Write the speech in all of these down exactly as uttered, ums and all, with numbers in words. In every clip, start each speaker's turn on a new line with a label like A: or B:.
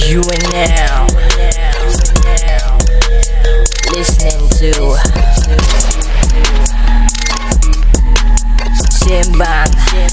A: You are now listening to Simbang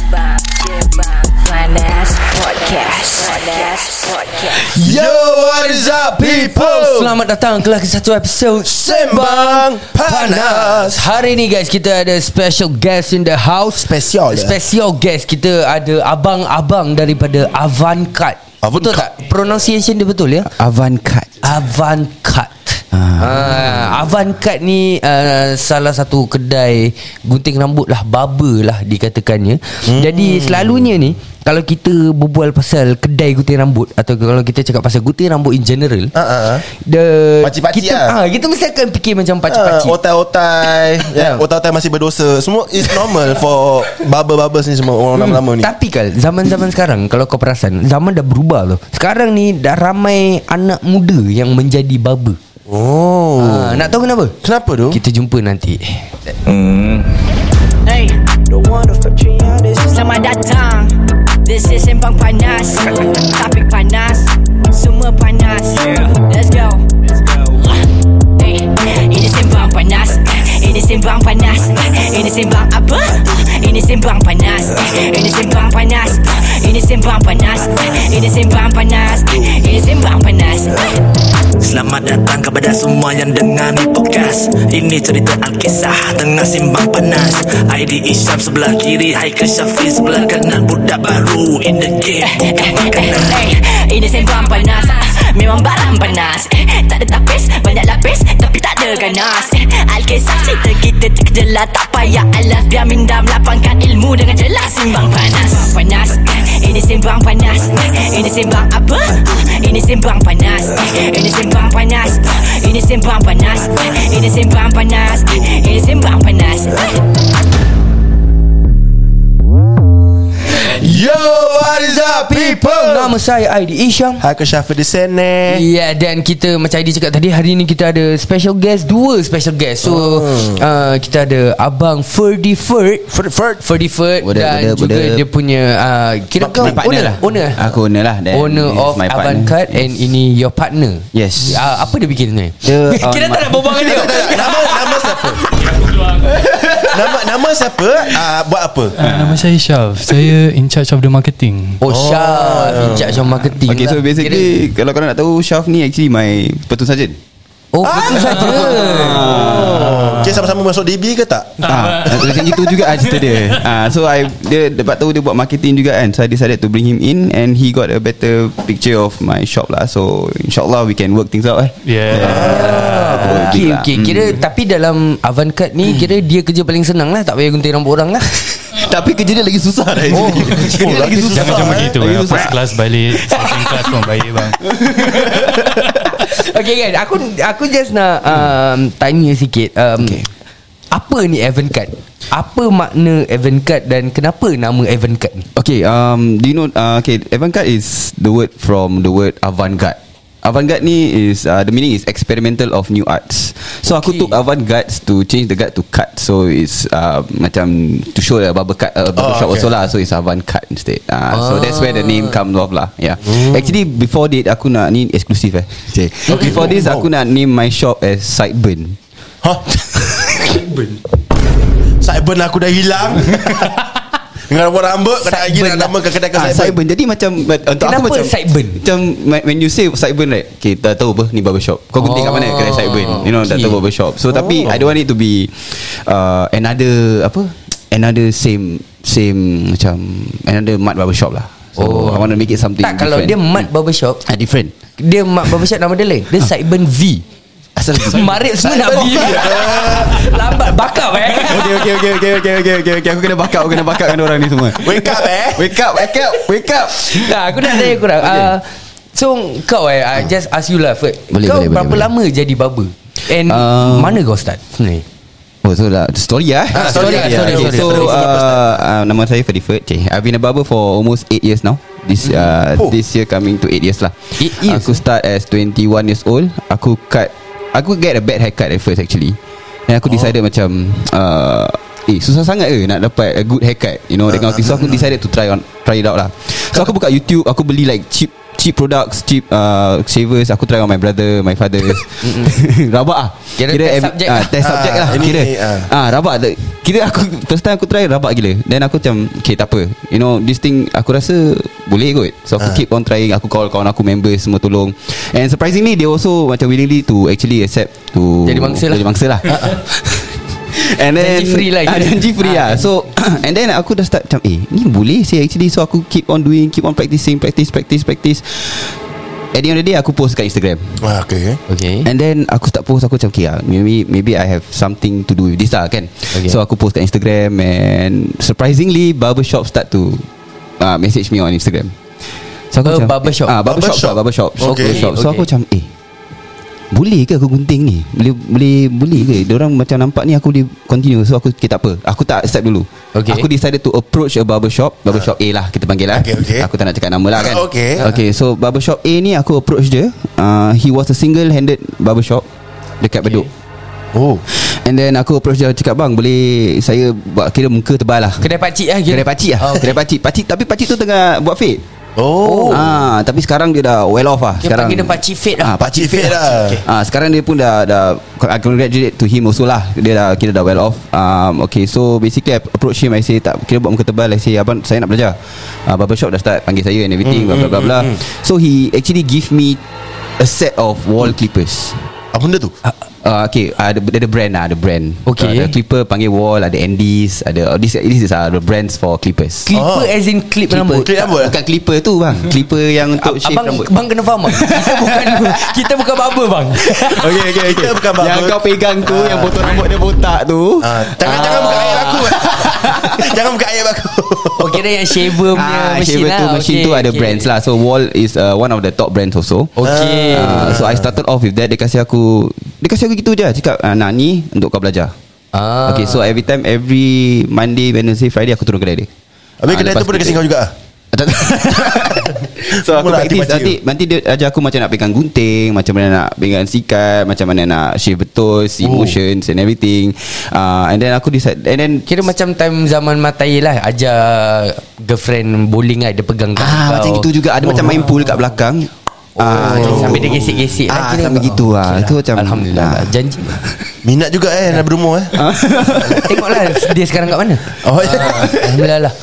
A: Panas Podcast.
B: Yo, what is up people?
C: Selamat datang ke lagi satu episod
B: Sembang Panas.
C: Hari ni guys, kita ada special guest in the house.
B: Spesial ya?
C: Special guest. Kita ada abang-abang daripada Avantcard. Betul tak? Pronunciation dia betul ya?
D: Avantcard.
C: Avantcard. Ah, Avantcard ni uh, salah satu kedai gunting rambut lah, barber lah dikatakannya. hmm. Jadi selalunya ni kalau kita berbual pasal kedai gunting rambut atau kalau kita cakap pasal gunting rambut in general,
B: uh-uh.
C: the
B: Pakcik-pakcik
C: kita
B: lah.
C: ah, kita mesti akan fikir macam pakcik-pakcik.
B: uh, Otai-otai yeah. Otai-otai masih berdosa. Semua is normal for barber-barbers ni semua. Orang
C: Hmm.
B: lama-lama ni.
C: Tapi kan zaman-zaman sekarang, kalau kau perasan, zaman dah berubah loh. Sekarang ni dah ramai anak muda yang menjadi barber.
B: Oh,
C: Ah, nak tahu kenapa?
B: kenapa tu?
C: Kita jumpa nanti.
A: Hey, selamat datang. This is Sembang Panas. Topik panas, semua panas. Let's go. Hey, ini Sembang Panas. Ini Sembang Panas. Ini Sembang apa? Ini Sembang Panas. Ini Sembang Panas. Ini Sembang Panas. Ini Sembang Panas. Ini Sembang Panas.
E: Selamat datang kepada semua yang dengar ni podcast. Ini cerita Alkisah tengah simbang panas. I D Isyam sebelah kiri, Haikal Syafiq sebelah kanan. Budak baru in the game, bukan makanan.
A: Hey, ini Sembang Panas. Memang barang panas. Tak ada tapis, banyak lapis, tapi tak ada ganas. Alkisah cerita kita terkejelah, tak payah alas. Biar minda melapangkan ilmu dengan jelas. Sembang Panas. Panas. Ini Sembang Panas. Ini Sembang apa? Ini Sembang Panas. Ini Sembang Panas. Ini Sembang Panas. Ini Sembang Panas. Ini Sembang Panas.
B: Yo, what is up people?
C: Nama saya I D Isyam.
B: Haikal Syafiq di sini.
C: Ya, dan kita macam I D cakap tadi, hari ni kita ada special guest, dua special guest. So
B: oh.
C: uh, kita ada Abang Ferdy Ferd
B: Ferd Ferd
C: Ferdy Ferd
D: Boda,
C: dan
D: boda,
C: juga
D: boda.
C: dia punya uh, kira
D: My
C: kau
D: partner
C: owner
D: lah.
C: Owner
D: Aku owner lah. Then
C: Owner
D: this is
C: of
D: my partner.
C: Avantcard.
D: Yes.
C: And ini your partner.
D: Yes.
C: uh, Apa dia bikin sebenarnya?
D: Dia on
C: Kita tak
D: my-
C: nak berbual dengan dia.
B: Nama nama siapa? Nama nama siapa? Uh, buat apa?
F: Uh, nama saya Syaf. Saya in charge of the marketing.
C: Oh, Syaf, in charge of marketing.
D: Okay, so
C: lah.
D: basically kalau korang nak tahu, Syaf ni actually my platoon sergeant.
C: Oh, betul saja.
B: Oh. Okay, sama-sama masuk D B ke tak?
D: Ah, macam itu juga ah cerita dia. Ah, so I dia dapat tahu dia buat marketing juga kan. So I decided to bring him in and he got a better picture of my shop lah. So insyaAllah we can work things out eh.
F: Yeah.
D: Ah,
C: Okay, okay. Kira tapi dalam Avantcard ni kira dia kerja paling senang lah, tak payah gunting rambut orang lah.
D: Tapi kerja dia lagi susah dah.
C: Oh,
D: kerja dia lagi susah.
F: Jangan macam begitu
D: Lagi
F: bang.
D: susah.
F: First class balik, second class pun baik bang.
C: Okay guys, aku aku just nak um, tanya sikit. Um,
D: Okay.
C: Apa ni Avantcard? Apa makna Avantcard dan kenapa nama Avantcard ni?
D: Okay, um, do you know? Uh, okay, Avantcard is the word from the word avant-garde. Avant-garde ni is uh, the meaning is experimental of new arts. So aku
C: Okay.
D: took avant-garde to change the guard to cut. So it's uh, macam to show the barber cut, uh, barber
B: Oh,
D: shop
B: okay.
D: also lah. So it's avant-garde instead. Uh, So that's where the name comes off lah. Yeah.
B: Mm.
D: Actually before that aku nak ni eksklusif eh. Okay. Before this aku nak name my shop as Sideburn.
B: Hah? Sideburn aku dah hilang. Dengan rambut rambut kena lagi nak nama ke kedai ke
D: Ah,
B: Sideburn.
D: Sideburn. Jadi macam untuk
C: Kenapa
D: aku macam
C: Sideburn?
D: Macam when you say Sideburn right, okay, tak tahu apa ni barbershop. Kau gunting kat mana kedai Sideburn. You know, tak
C: Okay.
D: tahu barbershop. So tapi I don't want it to be uh, another apa? Another same same macam another mud barbershop lah. So
C: Oh.
D: I want to make it something
C: Tak, kalau
D: different.
C: dia Mat Barbershop,
D: ah, different.
C: dia Mat Barbershop nama dia lain. Dia Sideburn V.
D: Asal
C: Marit semua nak V. Lambat bakap eh.
D: Okay okay okay okay okay okay okay okay aku kena bakat aku kena bakat dengan orang ni semua.
B: Wake up eh.
D: Wake up, wake up, wake up.
C: Nah, aku nak tanya korang.
D: Okay.
C: Uh, so kau eh, I just ask you lah, Ferd.
D: Boleh,
C: Kau
D: boleh,
C: berapa
D: boleh,
C: lama jadi barber? And
D: Um,
C: mana kau start sebenarnya?
D: Oh, so lah story lah.
B: Ah, story,
D: yeah.
B: story,
D: Okay,
B: story,
D: so
B: story.
D: uh, uh, nama saya Ferdy Ferd. Okay, I've been a barber for almost eight years now. This uh,
B: Oh.
D: this year coming to eight years lah.
C: Eight years?
D: Aku start as twenty-one years old. Aku cut. Aku get a bad haircut at first actually. Dan aku decided macam uh, eh susah sangat ke nak dapat a good haircut, you know, dengan uh, so aku decided to try on try it out lah. So aku buka YouTube, aku beli like cheap cheap products, cheap uh, shavers. Aku try on my brother, my father. Rabak ah.
C: Kira, kira test subject
D: uh,
C: lah.
D: Test subject
B: ah,
D: lah
B: ini,
D: kira
B: ah.
D: ah rabak. Kira aku first time aku try rabak gila. Then aku macam okay tak apa, you know, this thing aku rasa boleh kot. So aku
B: ah.
D: keep on trying. Aku call kawan aku, members semua tolong. And surprisingly they also macam willingly to actually accept to
C: jadi mangsa lah.
D: Jadi mangsa lah. And then
C: janji free lah,
D: ah, janji free lah. So and then aku dah start macam eh ni boleh sih actually. So aku keep on doing, keep on practicing, practice practice practice. At the end of the day aku post kat Instagram.
B: Ah, okay.
C: Okay.
D: And then aku start post, aku macam okay lah, maybe maybe I have something to do with this lah kan.
C: Okay.
D: So aku post kat Instagram. And surprisingly barbershop start to uh, message me on Instagram. So aku
C: Oh,
D: macam
C: barbershop.
D: ah, barbershop,
B: Barbershop.
D: barbershop, barbershop.
B: Okay.
D: barbershop. So
C: Okay.
D: aku macam eh boleh ke aku gunting ni? Boleh boleh boleh ke? Diorang macam nampak ni aku boleh continue. So aku okay, tak apa. Aku tak accept dulu.
C: Okay.
D: Aku decided to approach a barbershop. Barbershop A lah kita panggil lah.
B: Okay, okay.
D: Aku tak nak cakap nama lah kan.
B: Okay.
D: Okay, so barbershop A ni aku approach dia. uh, He was a single-handed barbershop dekat okay. Bedok.
B: Oh.
D: And then aku approach dia, cakap bang boleh saya buat kira muka tebal lah.
C: Kedai pakcik lah kira.
D: Kedai pakcik lah.
C: Oh, okay.
D: Kedai pakcik. Pakcik tapi pakcik tu tengah buat fade.
B: Oh.
D: Ah, tapi sekarang dia dah well off lah.
C: Dia
D: Sekarang
C: panggil dia pakcik fade lah.
D: Ah,
B: Pakcik fade lah.
C: Okay.
D: Ah, sekarang dia pun dah dah I congratulate to him also lah. Dia dah kira dah well off. Um, okay, so basically I approach him. I say tak kira buat muka tebal. I say abang saya nak belajar. Uh, barbershop dah start panggil saya and everything.
B: Mm,
D: blah blah blah blah.
B: mm, mm.
D: So he actually give me a set of wall clippers.
B: Apa benda tu?
D: Uh, okay, uh, ada, ada brand lah, ada brand.
C: Okay.
D: Uh, ada clipper panggil wall, ada Andes, ada oh, this this is uh, the brands for clippers.
C: Clipper
B: Oh.
C: as in clip rambut.
B: Clip rambut?
D: Bukan clipper tu bang, clipper yang untuk shave
C: Abang,
D: rambut.
C: bang kena faham bang. Kita bukan Kita bukan barber bang.
D: Okay, okay, okay.
B: Kita bukan barber.
D: Yang kau pegang tu, yang potong rambut dia botak tu.
B: Ah, jangan jangan buka ayat aku. Jangan buka ayat aku.
C: Oh kira yang shaver punya
D: Ah,
C: machine
D: shaver
C: lah.
D: tu machine
C: Okay,
D: tu ada
C: okay.
D: brands lah. So Wall is uh, one of the top brands also.
C: Okay.
D: Uh, so I started off with that. Dia kasih aku Dia kasih aku gitu je. Cakap ah, nak ni untuk kau belajar.
C: Ah.
D: Okay, so every time, every Monday, Wednesday, Friday aku turun kedai dia.
B: Habis
D: Ah,
B: kedai
D: lepas
B: tu pun dia kasi
D: kita-
B: kau juga.
D: So aku
B: Mula
D: practice
B: aktif
D: nanti, nanti dia ajar aku macam nak pegang gunting, macam mana nak pegang sikat, macam mana nak shave betul, see
B: Oh.
D: motions and everything. uh, And then aku decide. And then
C: Kira macam time zaman Matai lah. Ajar girlfriend bowling lah. Dia pegang tangan
D: ah,
C: kau.
D: macam gitu juga. Ada macam main pool kat belakang. Ah,
C: Oh, sampai dia gesek-gesek lah
D: Ah,
C: kira.
D: sampai gitu lah.
C: Okay
D: Itu macam
C: Alhamdulillah
D: ah.
C: lah. Janji.
B: Minat juga eh nak berumur eh.
C: Tengoklah dia sekarang kat mana.
B: Oh ya.
C: Alhamdulillah lah.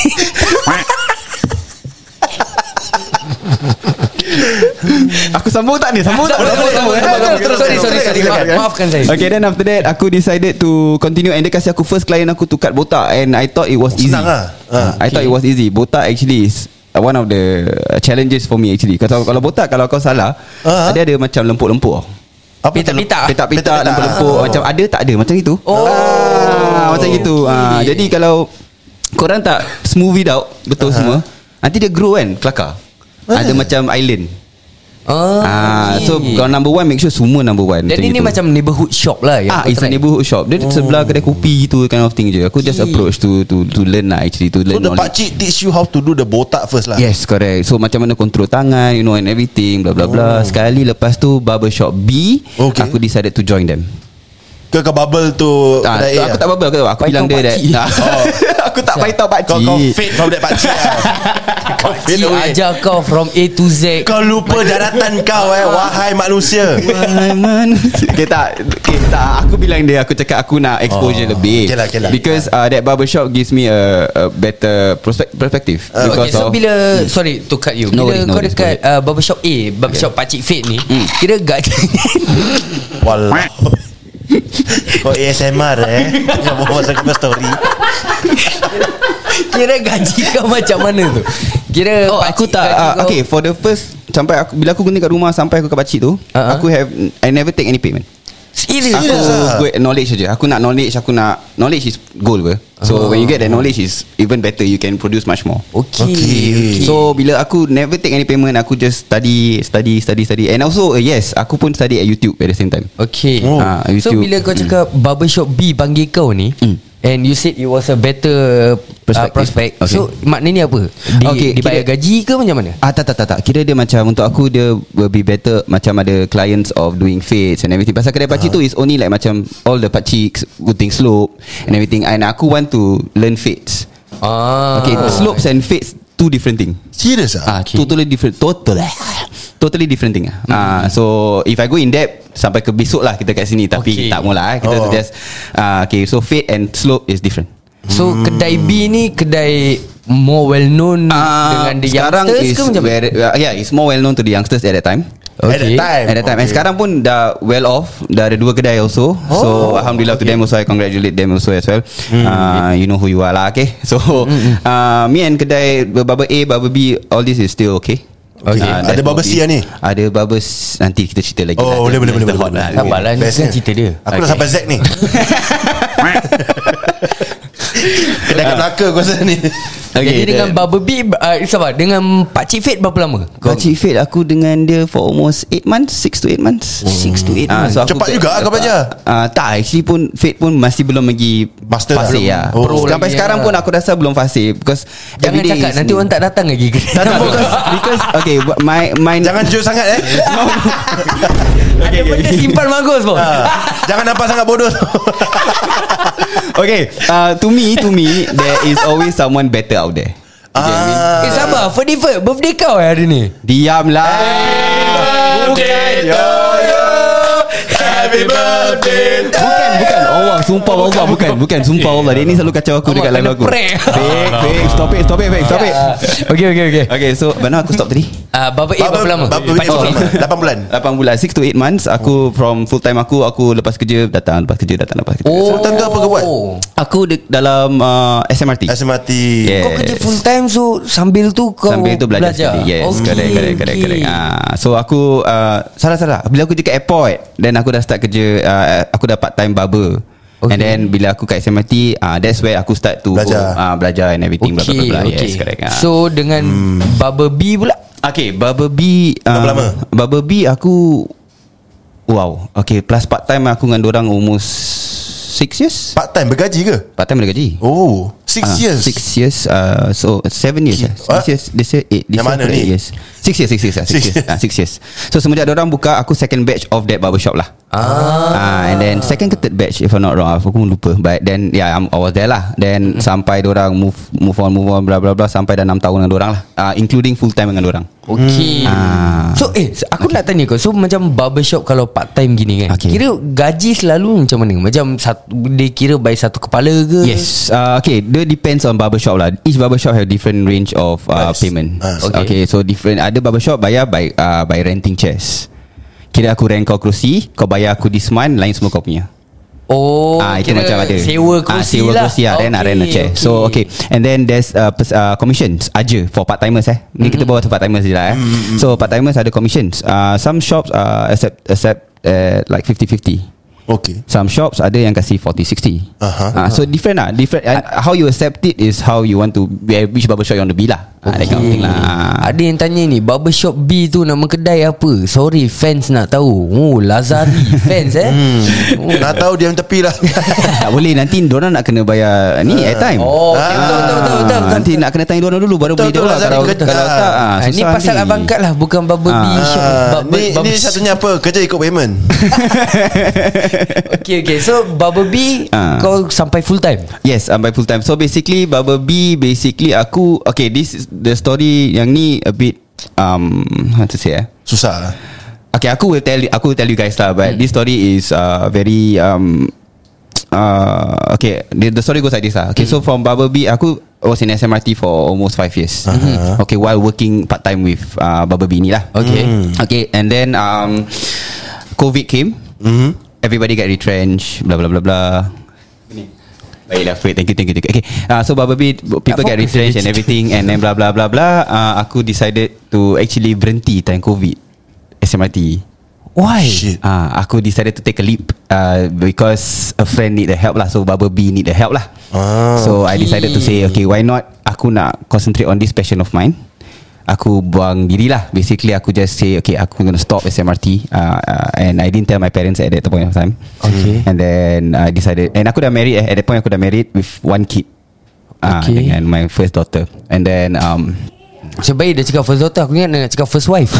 D: Aku sambung tak ni? Sambung tak?
C: Sambung, sambung, sambung, sambung.
D: Terus,
C: Sorry,
D: terus,
C: sorry,
D: terus,
C: sorry.
D: terus,
C: Maaf-
D: terus.
C: maafkan saya.
D: Okay, then after that aku decided to continue. And dia kasih aku first client aku to cut botak. And I thought it was easy.
B: Senang lah. Ah,
D: I thought it was easy. Botak actually is uh, one of the challenges for me actually. Kalau kalau botak, kalau kau salah,
B: Ah.
D: dia ada macam lempuk-lempuk tau.
B: Apa tu?
C: Pitak-pitak.
D: Petak-petak,
B: Petak-petak.
D: lempuk-lempuk.
B: Oh.
D: Macam ada tak ada, macam itu.
C: Oh.
D: Ah, macam gitu. Ah, jadi kalau korang tak smooth it out betul semua, nanti dia grow kan, kelakar. Ada macam island.
C: Oh,
D: Ah,
C: okay.
D: so kalau number one, make sure semua number one.
C: Jadi ni
D: gitu.
C: macam neighborhood shop lah yang
D: Ah,
C: kau
D: it's a
C: try.
D: neighborhood shop. Dia oh. sebelah kedai kopi gitu kind of thing je. Aku just
C: Okay.
D: approach to to to learn lah actually, to
B: So
D: learn
B: the
D: knowledge.
B: pakcik teach you how to do the botak first lah.
D: Yes, correct. So macam mana control tangan, you know, and everything, blah blah blah. Sekali lepas tu barbershop B,
B: Okay.
D: aku decided to join them.
B: Ke ke bubble tu
D: Ah,
B: kedai A
D: aku
B: lah?
D: tak bubble, aku, aku bilang dia that.
C: pakcik.
D: Oh. Aku tak paitau pakcik.
B: Kau kau fade from that pakcik lah. Kau fade
C: Cik
B: away.
C: ajar kau from A to Z.
B: Kau lupa daratan kau eh. Wahai manusia.
D: Wahai manusia. Okay tak, okay, tak. Aku bilang dia, aku cakap aku nak exposure
B: Oh.
D: lebih.
B: Okay lah, okay lah.
D: Because uh, that barbershop gives me a, a better prospect, perspective.
B: Uh,
D: because
C: Okay, so
D: of,
C: bila sorry to cut you.
D: No
C: Bila
D: worries, no
C: kau
D: worries,
C: dekat uh, barbershop A, barbershop Pakcik Fade ni, kira gaji
B: Walau. Kau A S M R eh. Kau bawa pasal kau story.
C: kira gaji kau macam mana tu? Kira
D: Oh, aku
C: pakcik
D: tak
C: gaji
D: uh,
C: kau-
D: okay, for the first sampai aku bila aku gunting kat rumah sampai aku kat pakcik tu,
C: Uh-huh.
D: aku have I never take any payment.
C: Serius
D: Aku
B: Serious ah?
D: good knowledge saja. Aku nak knowledge, aku nak knowledge is gold ber. So when you get that knowledge is even better, you can produce much more.
C: Okay,
B: Okay.
C: okay.
D: So bila aku never take any payment, aku just study, study, study, study. And also uh, yes, aku pun study at YouTube at the same time.
C: Okay.
B: Oh.
D: Ah,
C: So
D: YouTube.
C: bila kau cakap barbershop B panggil kau ni,
D: Hmm.
C: And you said it was a better uh, prospect.
D: Okay.
C: So maknanya apa? Di,
D: Okay,
C: dibayar
D: kira-
C: gaji ke macam mana?
D: Ah tak tak tak tak. Kira dia macam untuk aku dia will be better macam ada clients of doing fades and everything. Pasal kedai pakcik uh-huh. tu is only like macam all the pakcik gunting slope and everything. And aku want to learn fades.
C: Ah.
D: Okay, slopes and fades two different thing.
B: Serious
D: Ah,
B: ah?
D: okay. Totally different. Total. Totally different thing. Ah, uh, so if I go in depth sampai ke besok lah kita kat sini. Tapi
C: Okay.
D: tak maulah. Kita
B: Oh.
D: just uh, okay. So fade and slope is different.
C: So hmm. kedai B ni kedai more well known
D: Uh,
C: dengan the
D: sekarang
C: youngsters
D: is
C: ke macam mana?
D: very, uh, yeah, it's more well known to the youngsters at that time.
B: At that time
D: At that time. Okay. And sekarang pun dah well off. Dah ada dua kedai also. Oh, so alhamdulillah okay. to them also. I congratulate them also as well. mm. uh, You know who you are lah. Okay. So mm-hmm. uh, me and kedai Baba A, Baba B, all this is still okay.
B: Okay. Uh, ada Baba C lah ni?
D: Ada Baba C. Nanti kita cerita lagi.
B: Oh boleh boleh boleh.
C: Sabarlah ni kan cerita dia.
B: Aku dah sampai Z ni. Kedai kat Melaka aku rasa ni.
C: Okay, jadi dengan Baba B uh, sabar, dengan Pakcik Fate berapa lama?
D: Pakcik Fate aku dengan dia for almost eight months, six to eight months.
C: six to eight
D: Ah,
C: months.
D: so aku
B: Cepat
D: ke-
B: juga kau belajar.
D: Ah, tak, actually pun Fate pun masih belum lagi
B: Master
D: fasih
B: belum.
D: lah.
B: Oh.
D: Pro Sampai
C: lagi,
D: sekarang
C: ya.
D: pun aku rasa belum fasih because
C: Jangan
D: everyday
C: cakap
D: is
C: nanti
D: new.
C: orang tak datang lagi.
D: Tak tak because, because okay my my
B: Jangan jujur sangat eh.
C: Ada benda simpan bagus pun.
B: Jangan nampak sangat bodoh.
D: okay uh, to me to me there is always someone better out there. You get what I mean?
B: Ah.
C: Eh sabar, Ferdinand, birthday kau eh hari ni?
D: Diamlah.
B: Birthday to you. Happy birthday to
D: Bukan bukan Allah sumpah Allah bukan bukan sumpah Allah dia ni selalu kacau aku dekat lagu aku.
C: Prank.
D: Fake fake stop it stop it fake stop it.
C: Okay okay okay.
D: Okay so mana aku stop tadi?
C: Uh, Baba A berapa lama?
B: Baba
C: Pakcik
B: berapa
C: Fate.
B: lama? lapan bulan.
D: lapan bulan six to eight months aku from full time aku aku lepas kerja datang lepas kerja datang lepas kerja.
C: Oh.
B: Full time tu apa kau buat?
D: Aku de- dalam uh, S M R T.
B: S M R T.
D: Yeah.
C: Kau kerja full time so sambil tu kau
D: Sambil tu belajar,
C: belajar.
D: study. Yes
C: Okay,
D: correct correct correct,
C: okay.
D: correct. Ah, so aku uh, Salah-salah bila aku kerja kat airport, then aku dah start kerja uh, Aku dah part time barber. Okay. And then bila aku kat S M R T, uh, that's where aku start to
B: Belajar.
D: go, uh, Belajar and everything blah, blah,
C: Okay,
D: blah, blah.
C: okay.
D: Yes correct. Uh.
C: So dengan hmm. Baba B pula.
D: Okay, Barber B uh,
B: Berapa lama?
D: Barber B aku wow. Okay, plus part time aku dengan dorang almost six years.
B: Part time bergaji ke?
D: Part time ada gaji.
B: Oh, six
D: Ah,
B: years.
D: Six years uh, So seven years
B: Ki-
D: Six
B: what?
D: years This year eight this
B: Yang
D: year
B: mana
D: eight
B: ni?
D: years. Six years Six years ah, Six
B: Six
D: years
B: years.
D: ah, Six years. So semenjak dorang buka, aku second batch of that barbershop lah.
C: Ah.
D: Ah, and then second ke third batch if I'm not wrong, aku pun lupa. But then yeah, I'm, I was there lah. Then mm-hmm. sampai dorang move move on move on bla bla bla sampai dah enam tahun dengan dorang lah. Uh, including full time dengan dorang.
C: Okay.
D: Ah.
C: So eh aku okay. nak tanya kau. So macam barbershop kalau part time gini kan,
D: Okay.
C: kira gaji selalu macam mana? Macam satu, dia kira by satu kepala ke?
D: Yes. Uh, okay. Dia depends on barbershop lah. Each barbershop have different range of uh,
B: Price.
D: payment.
B: Ah,
D: okay.
C: okay.
D: okay. So different. Ada barbershop bayar by uh, by renting chairs. Kira aku rent kau kerusi, kau bayar aku this month, lain semua kau punya.
C: Oh,
D: Ah, itu
C: kira
D: macam ada.
C: sewa
D: Ah,
C: kerusi
D: sewa
C: lah.
D: kerusi lah. Then okay, rent a chair.
C: okay.
D: So okay. And then there's uh, pers- uh, commissions aja for part timers eh. Ni kita bawa tu part timers je lah eh.
B: Mm-hmm.
D: So part timers ada commissions. Uh, some shops uh, accept accept uh, like fifty fifty.
B: Okay.
D: Some shops ada yang kasih forty sixty.
B: Aha.
D: Uh, so different lah. Different. Uh, how you accept it is how you want to be, which barbershop you want to be lah. Ah, that kind of thing lah.
C: Ada yang tanya ni, barbershop B tu nama kedai apa? Sorry, fans nak tahu. Oh, Lazari fans eh.
B: Oh. Nak tahu diam tepi lah.
D: Tak boleh, nanti diorang nak kena bayar ni airtime.
C: Oh, okay,
B: Ah.
C: betul, betul, betul, betul, betul.
D: Nanti nak kena tanya diorang dulu baru
B: Betul,
D: boleh dia
B: betul,
D: lah.
B: Lazari
D: Kalau,
B: kena-
D: kalau tak ah,
C: Ah, ni
D: susah
C: pasal
D: nanti.
C: abang Kad lah, bukan barber B
D: Ah.
C: shop.
B: Ah,
C: Barber,
B: ni,
C: barber
B: ni satunya apa? Kerja ikut payment.
C: Okay, okay. So barber B
D: Ah.
C: kau sampai full time.
D: Yes, I'm by full time. So basically Barber B, basically aku okay, this is the story yang ni a bit um how to say eh.
B: Susah.
D: Okay, aku will tell aku will tell you guys lah, but hmm. this story is uh, very um uh okay, the, the story goes like this lah. Okay, hmm. so from Barber B, aku was in S M R T for almost five years. Uh-huh. Okay, while working part time with uh, Barber B ni lah.
C: Okay.
D: Hmm. Okay, and then um COVID came.
B: Mm-hmm.
D: Everybody get retrenched, blah blah blah blah. Baiklah, Fred, thank you, thank you, thank you. Okay, uh, so Barber B, people get retrenched and everything, and then blah blah blah blah. Uh, aku decided to actually berhenti time COVID S M R T.
C: Why?
B: Shit.
D: Ah, uh, aku decided to take a leap uh, because a friend need the help lah. So Barber B need the help lah.
B: Ah,
D: so I decided to say, okay, why not? Aku nak concentrate on this passion of mine. aku buang diri lah. Basically aku just say okay, aku gonna stop S M R T, uh, uh, and I didn't tell my parents at that point of time.
C: Okay.
D: And then I decided, and aku dah married eh, at that point aku dah married with one kid, uh,
C: Okay.
D: dengan my first daughter. And then um,
C: Macam baik dia cakap first daughter, aku ingat dia nak cakap first wife.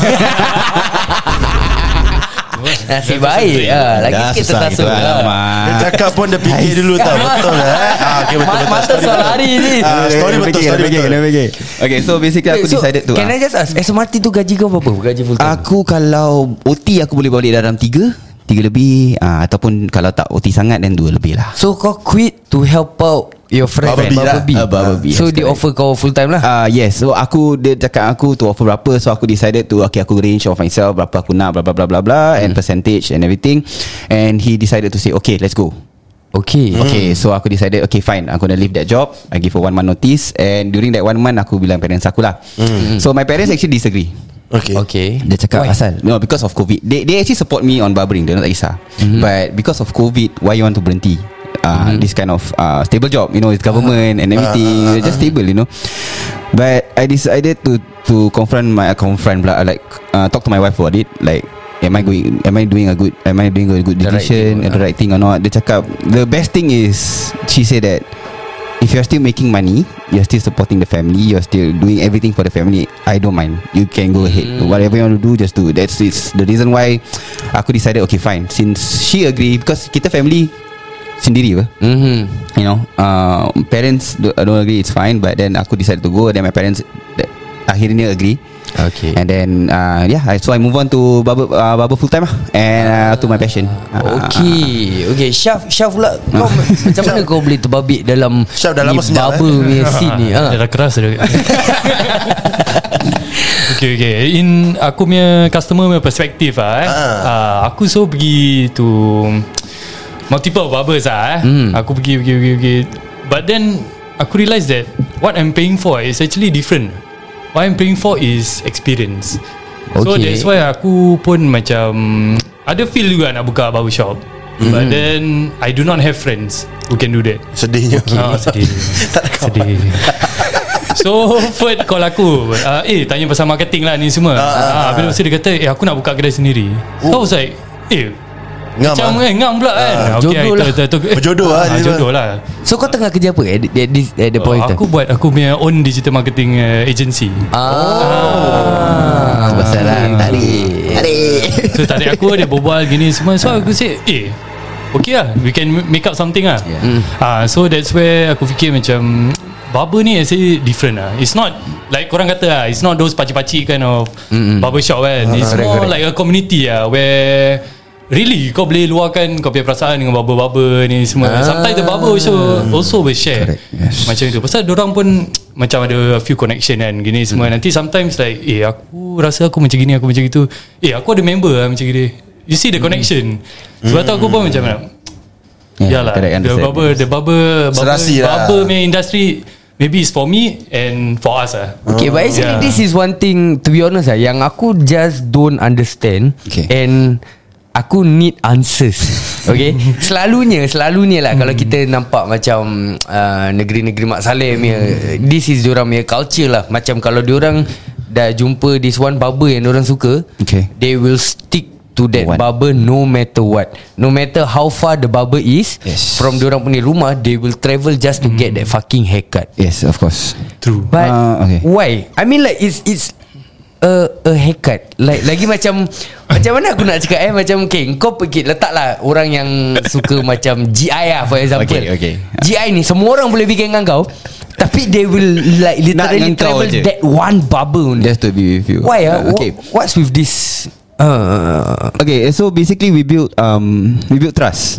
C: Nasib baik ah, lagi
B: Dah
C: sikit
B: susah
C: tersasul
B: gitu,
C: lah.
B: Dia cakap pun dia fikir dulu tau. Betul lah eh? ah, okay, betul, betul.
C: Mata
B: Story
C: soal
B: betul.
C: hari ni.
B: Ah, Story betul, story betul.
D: Okay, so basically aku
C: So,
D: decided to
C: Can
D: uh,
C: I just ask, S M R T tu gaji kau berapa? Gaji full time?
D: Aku kalau O T aku boleh balik dalam tiga Tiga lebih, uh, ataupun kalau tak O T sangat dan dua lebih lah.
C: So kau quit to help out your friend
B: Bubble Bee lah.
C: Bee.
D: Uh, Bubble Bee,
C: So
D: yes,
C: dia
D: correct.
C: offer kau full time lah.
D: Uh, yes, so aku dia cakap aku to offer berapa, so aku decided to okay aku range of myself berapa aku nak bla bla bla bla bla and percentage and everything, and he decided to say okay let's go.
C: Okay.
D: Okay, so aku decided okay fine, I'm gonna leave that job. I give a one month notice, and during that one month aku bilang parents aku lah. So my parents actually disagree.
B: Okay.
C: Okay.
D: Dia cakap
C: Why?
D: asal no because of COVID. They they actually support me on barbering, dia tak kisah. Mm-hmm. But because of COVID, why you want to berhenti? Uh, mm-hmm. This kind of uh, stable job, you know, it's government uh, and everything, uh, uh, uh, just stable, you know. But I decided to to confront my uh, confront lah, like uh, talk to my wife about it, like. Am I going? Am I doing a good? Am I doing a good
C: The right
D: decision?
C: thing,
D: The right thing or not? Dia cakap the best thing is she said that if you're still making money, you're still supporting the family, you're still doing everything for the family, I don't mind. You can go ahead.
C: Mm.
D: Whatever you want to do, just do. That's it's the reason why aku decided okay fine. Since she agree, because kita family sendiri apa,
C: Mm-hmm.
D: you know, uh, parents do, don't agree, it's fine. But then aku decided to go. Then my parents that, akhirnya agree.
C: Okay.
D: And then uh, yeah, I- so I move on to barber, uh, barber full time lah, and uh, to my passion. Uh,
C: Okay. Okay, Syaf, Syaf pula kau macam mana kau boleh terbabit dalam
B: Syaf dah lama
C: ni
B: senyap,
C: barber
B: eh?
C: punya scene ni?
F: Dia
C: Ha.
F: dah keras dah. Okay okay In aku punya customer punya perspektif lah eh.
B: Ah.
F: uh, Aku so pergi to multiple barbers lah eh.
C: Hmm.
F: Aku pergi pergi pergi pergi But then aku realise that what I'm paying for is actually different. What I'm paying for is experience. So
C: Okay.
F: that's why aku pun macam ada feel juga nak buka barbershop. Mm. But then I do not have friends who can do that.
B: Sedihnya.
F: Ah, sedih. Sedih. So Ferd call aku, uh, Eh tanya pasal marketing lah ni semua. ah, Habis uh, dia kata Eh aku nak buka kedai sendiri. So I was like Eh
B: Ngam
F: macam
B: ah.
F: eh ngam pula kan.
C: Ah,
F: Okay,
C: jodoh
F: itu-
C: lah.
F: itu- itu- eh,
B: Berjodoh lah
F: ah,
B: dia
F: Jodoh lah.
C: So kau tengah kerja apa at, at, this, at the point
F: Oh,
C: of
F: aku
C: time?
F: buat aku punya own digital marketing uh, agency.
C: Ah, pasal lah tarik. Tarik.
F: So tadi aku dia berbual gini semua. So aku say Eh okay lah, we can make up something lah.
C: Yeah.
F: Ah, So that's where aku fikir macam barber ni actually different lah. It's not like korang kata lah, it's not those pakcik-pakcik kind of
C: Mm-mm.
F: barbershop kan. It's
C: correct,
F: more
C: correct.
F: like a community lah, where really kau boleh luahkan kau punya perasaan dengan barber-barber ni semua.
C: Ah.
F: Sometimes the barber also also will share.
D: Correct, yes.
F: Macam itu. Pasal dorang pun macam ada a few connection kan gini semua. Nanti sometimes like eh aku rasa aku macam gini, aku macam gitu. Eh aku ada member lah macam gini. You see the connection. Sebab tu aku pun macam mana?
D: Yeah,
F: Yalah,
D: correct,
F: the
D: understand.
F: barber, the barber, barber,
B: Serasi lah.
F: barber punya industry maybe it's for me and for us lah.
C: Okay, but actually
F: Yeah.
C: this is one thing, to be honest lah, yang aku just don't understand.
D: Okay.
C: And aku need answers. Okay. Selalunya Selalunya lah kalau kita nampak macam uh, negeri-negeri Mak Saleh punya, this is diorang punya culture lah. Macam kalau diorang dah jumpa this one barber yang diorang suka,
D: Okay.
C: they will stick to that
D: What?
C: barber no matter what. No matter how far the barber is,
D: Yes.
C: from diorang punya rumah, they will travel just to get that fucking haircut.
D: Yes, of course.
F: True.
C: But
D: Ah, okay.
C: why? I mean like it's it's a a haircut. Like lagi macam macam mana aku nak cakap eh, macam okay, kau pergi letaklah orang yang suka macam G I lah for example.
D: Okay, okay.
C: G I ni semua orang boleh bikin dengan kau, tapi they will like literally
D: dengan kau
C: travel
D: je.
C: that one barber only.
D: Just to be with you.
C: Why ah?
D: Uh, okay.
C: Wha- What's with this? Uh,
D: Okay, so basically we build um we build trust.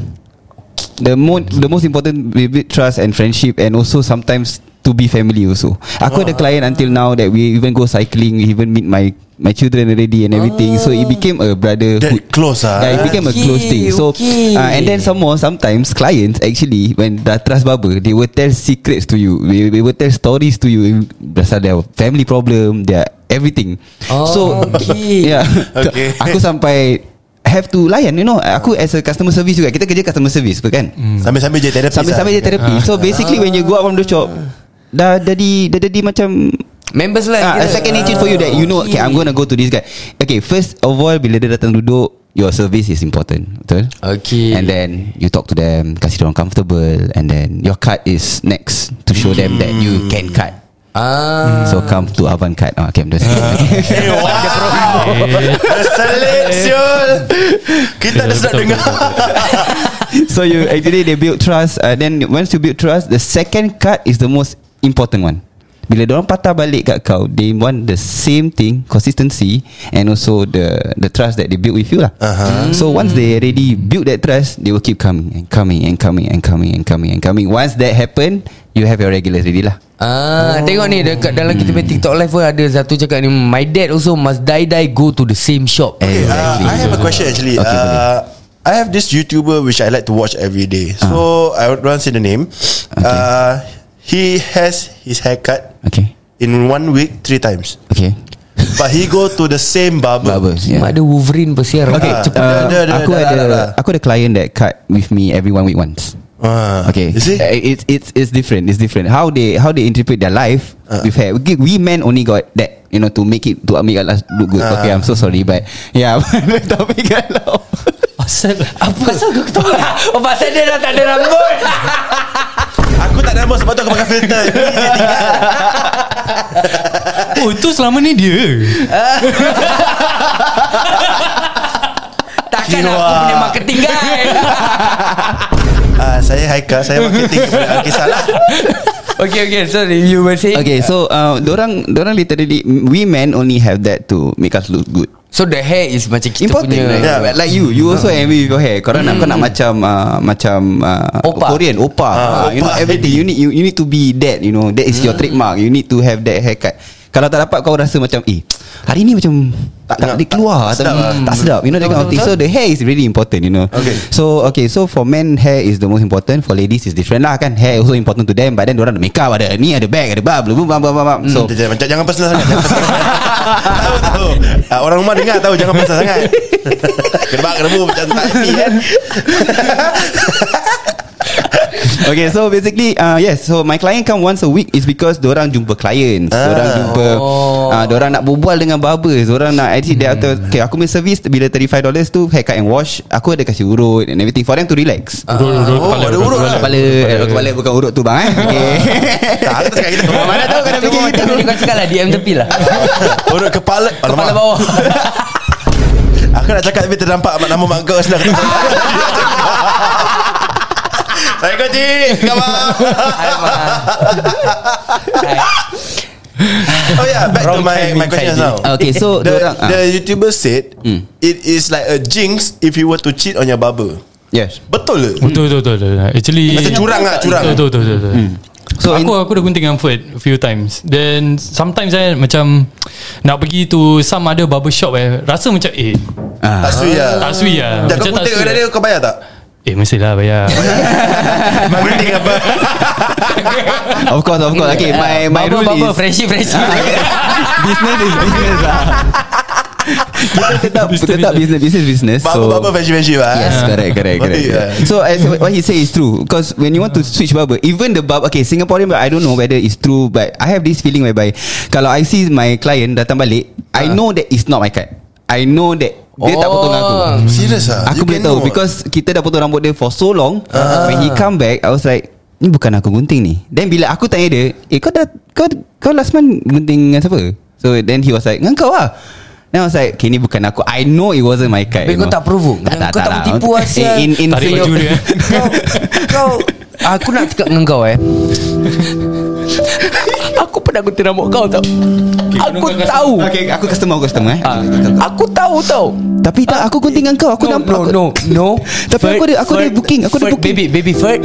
D: The mo- the most important, we build trust and friendship, and also sometimes to be family also. Aku ada client until now that we even go cycling, we even meet my my children already and everything. So it became a brotherhood.
B: That close ah.
D: Yeah, it became a
C: Okay,
D: close thing. So
C: okay.
D: uh, and then some more, sometimes clients actually when dah trust barber, they will tell secrets to you. They, they will tell stories to you pasal their family problem, their everything.
C: Oh,
D: So
C: okay.
D: yeah.
B: Okay.
D: Aku sampai have to layan, you know. Aku as a customer service juga, kita kerja customer service apa kan.
B: Sambil-sambil je terapi.
D: Sambil-sambil je terapi. So basically when you go out from the shop, dah jadi dah jadi macam
C: Members lah.
D: Ah, a second nature for you that you know, okay, I'm gonna go to this guy. Okay, first of all, bila dia datang duduk, your service is important, betul?
C: Okay.
D: And then you talk to them, kasih orang comfortable, and then your card is next to show them that you can cut.
C: Ah.
D: So come to Avan Card. Oh, okay, I'm just
B: Selit siul. Kita dah sedap dengar.
D: So you actually they build trust. uh, Then once you build trust, the second card is the most important one. Bila diorang patah balik kat kau, they want the same thing, consistency, and also the the trust that they build with you lah. uh-huh. So once they already build that trust, they will keep coming and coming and coming and coming and coming and coming. Once that happen, you have your regulars already lah.
C: Ah, oh. Tengok ni dekat dalam kita punya TikTok live pun ada satu cakap ni, my dad also must die die go to the same shop.
B: Okay, uh, I have a question actually.
D: Okay,
B: uh, I have this YouTuber which I like to watch every day. So uh. I don't say the name. Okay. Uh, he has his haircut.
D: Okay.
B: In one week three times.
D: Okay.
B: But he go to the same barber.
D: Barber, yeah.
C: Mak ada Wolverine bersiar.
D: Okay,
B: Ah,
D: cepat.
B: uh,
D: Uh,
B: ada, ada,
D: aku
B: ada,
D: ada,
B: ada, ada.
D: aku ada client that cut with me every one week once.
B: Uh,
D: Okay,
B: You see?
D: Uh, it's it's it's different. It's different. How they how they interpret their life
B: Uh.
D: with hair. We, we men only got that, you know, to make it to make us look good.
B: Uh.
D: Okay, I'm so sorry, but yeah, tapi kalau
F: Asal
C: Apa? Pasal kau ketawa? Oh, pasal dia dah tak ada rambut.
B: Aku tak ada rambut sebab tu aku pakai filter. Ni dia tinggal.
F: Oh itu selama ni dia.
C: Takkan
B: Jiwa.
C: aku punya marketing guy.
B: Ah, saya Haikal, saya marketing kepada Alkisah lah.
C: Okay okay, sorry, you were saying.
D: okay, so uh, dorang dorang literally, we men only have that to make us look good.
C: So the hair is macam kita
D: Important,
C: punya
D: right?
B: Yeah.
D: Like you, you also envy with your hair. Korang nak kau nak macam uh, macam uh,
C: Opa.
D: Korean, opa.
B: Ah,
D: Uh, you know
B: opa.
D: everything. You need you, you need to be that. You know that is your trademark. You need to have that haircut. Kalau tak dapat kau rasa macam eh hari ni macam tak tak dia keluar
B: tak
D: tak,
B: sedap lah.
D: tak sedap. You know that kind of thing. So the hair is really important. You know.
B: Okay.
D: So okay. So for men hair is the most important. For ladies is different lah kan. Hair also important to them. But then diorang ada makeup, ada ni, ada bag, ada bab, bab bab bab bab. So
B: Jangan, jangan, jangan personal sangat. Jangan personal sangat. Tahu tahu. Ah, orang rumah dengar tahu jangan personal sangat. Kena kena bu macam tak happy kan.
D: okay, so basically uh, yes, so my client come once a week is because diorang jumpa clients,
B: Ah.
D: diorang jumpa
C: Oh.
D: uh, diorang nak berbual dengan barbers, diorang nak actually dia kata, okay, aku punya service bila thirty-five dollars tu haircut and wash, aku ada kasih urut and everything for them to relax.
F: Urut, urut,
B: Oh,
F: kepala,
B: ada urut lah.
D: Kepala, eh, kepala bukan urut tu bang eh. Okay.
B: Tak, aku tak cakap kita.
D: Mana tahu kena fikir
C: Macam
D: gitu.
C: ni kau cakap lah D M tepi lah.
B: Urut kepala.
C: Kepala
B: Alamak.
C: bawah.
B: Aku nak cakap tapi terdampak nama mak kau sebelah. Saya kau cik. Kau
C: Hai Mak. Hai.
B: Oh yeah, back to my my question now.
D: Okay, so
B: The,
D: diorang
B: the
D: ah,
B: YouTuber said it is like a jinx if you were to cheat on your barber.
D: yes.
B: Betul ke?
F: Betul betul betul. Actually
B: Macam curang lah, curang.
F: Betul betul betul. betul.
D: So
F: So aku
D: in-
F: aku dah gunting dengan Ferd a few times. Then sometimes saya macam nak pergi to some other barber shop eh, rasa macam eh
B: Tak sui lah.
F: tak sui lah.
B: Dah kau
F: Macam tak
B: gunting
F: sui
B: kat
F: lah.
B: dia kau bayar tak?
F: Eh mestilah bayar.
B: Mak gunting apa?
D: Of course, of course. Okay, my my
C: Baba
D: rule
C: baba
D: is
C: friendship friendship.
D: business is business lah. Kita tetap
F: Business,
D: tetap business business business.
B: Barber barber friendship friendship lah.
D: Yes, correct, correct, correct.
B: Betul, yeah.
D: So as what he say is true, because when you want to switch barber, even the barber, okay, Singaporean, I don't know whether it's true, but I have this feeling whereby kalau I see my client datang balik, I know that it's not my cut. I know that dia tak potong aku.
B: Serious ah?
D: Aku
B: You
D: boleh
B: can
D: tahu
B: know.
D: because kita dah potong rambut dia for so long. When he come back, I was like, ni bukan aku gunting ni. Then bila aku tanya dia, eh kau dah kau kau last month gunting dengan siapa? So then he was like, dengan kau lah. Then I was like, okay, ni bukan aku. I know it wasn't my cut.
C: Tapi
D: you
C: kau
D: know.
C: tak provoke. Kau tak bertipu
D: lah.
C: Asia.
D: In in
F: Tarik baju
D: Singapore-
F: dia.
C: Kau Kau Aku nak cakap dengan kau eh. Aku pernah gunting rambut kau tau. Aku tahu.
D: Okay, aku customer, aku customer eh.
C: Aku tahu tau.
D: Tapi tak, aku gunting dengan kau. Aku
C: no,
D: nampak.
C: no,
D: aku-
C: no, no.
D: Tapi aku ada- aku ada booking, aku ada
C: Ferd,
D: booking.
C: Baby, baby Ferd.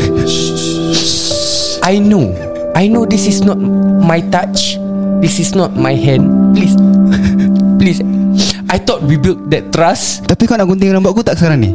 C: I know. I know this is not my touch. This is not my hand. Please. Please. I thought we built that trust.
D: Tapi kau nak gunting rambut aku tak sekarang ni?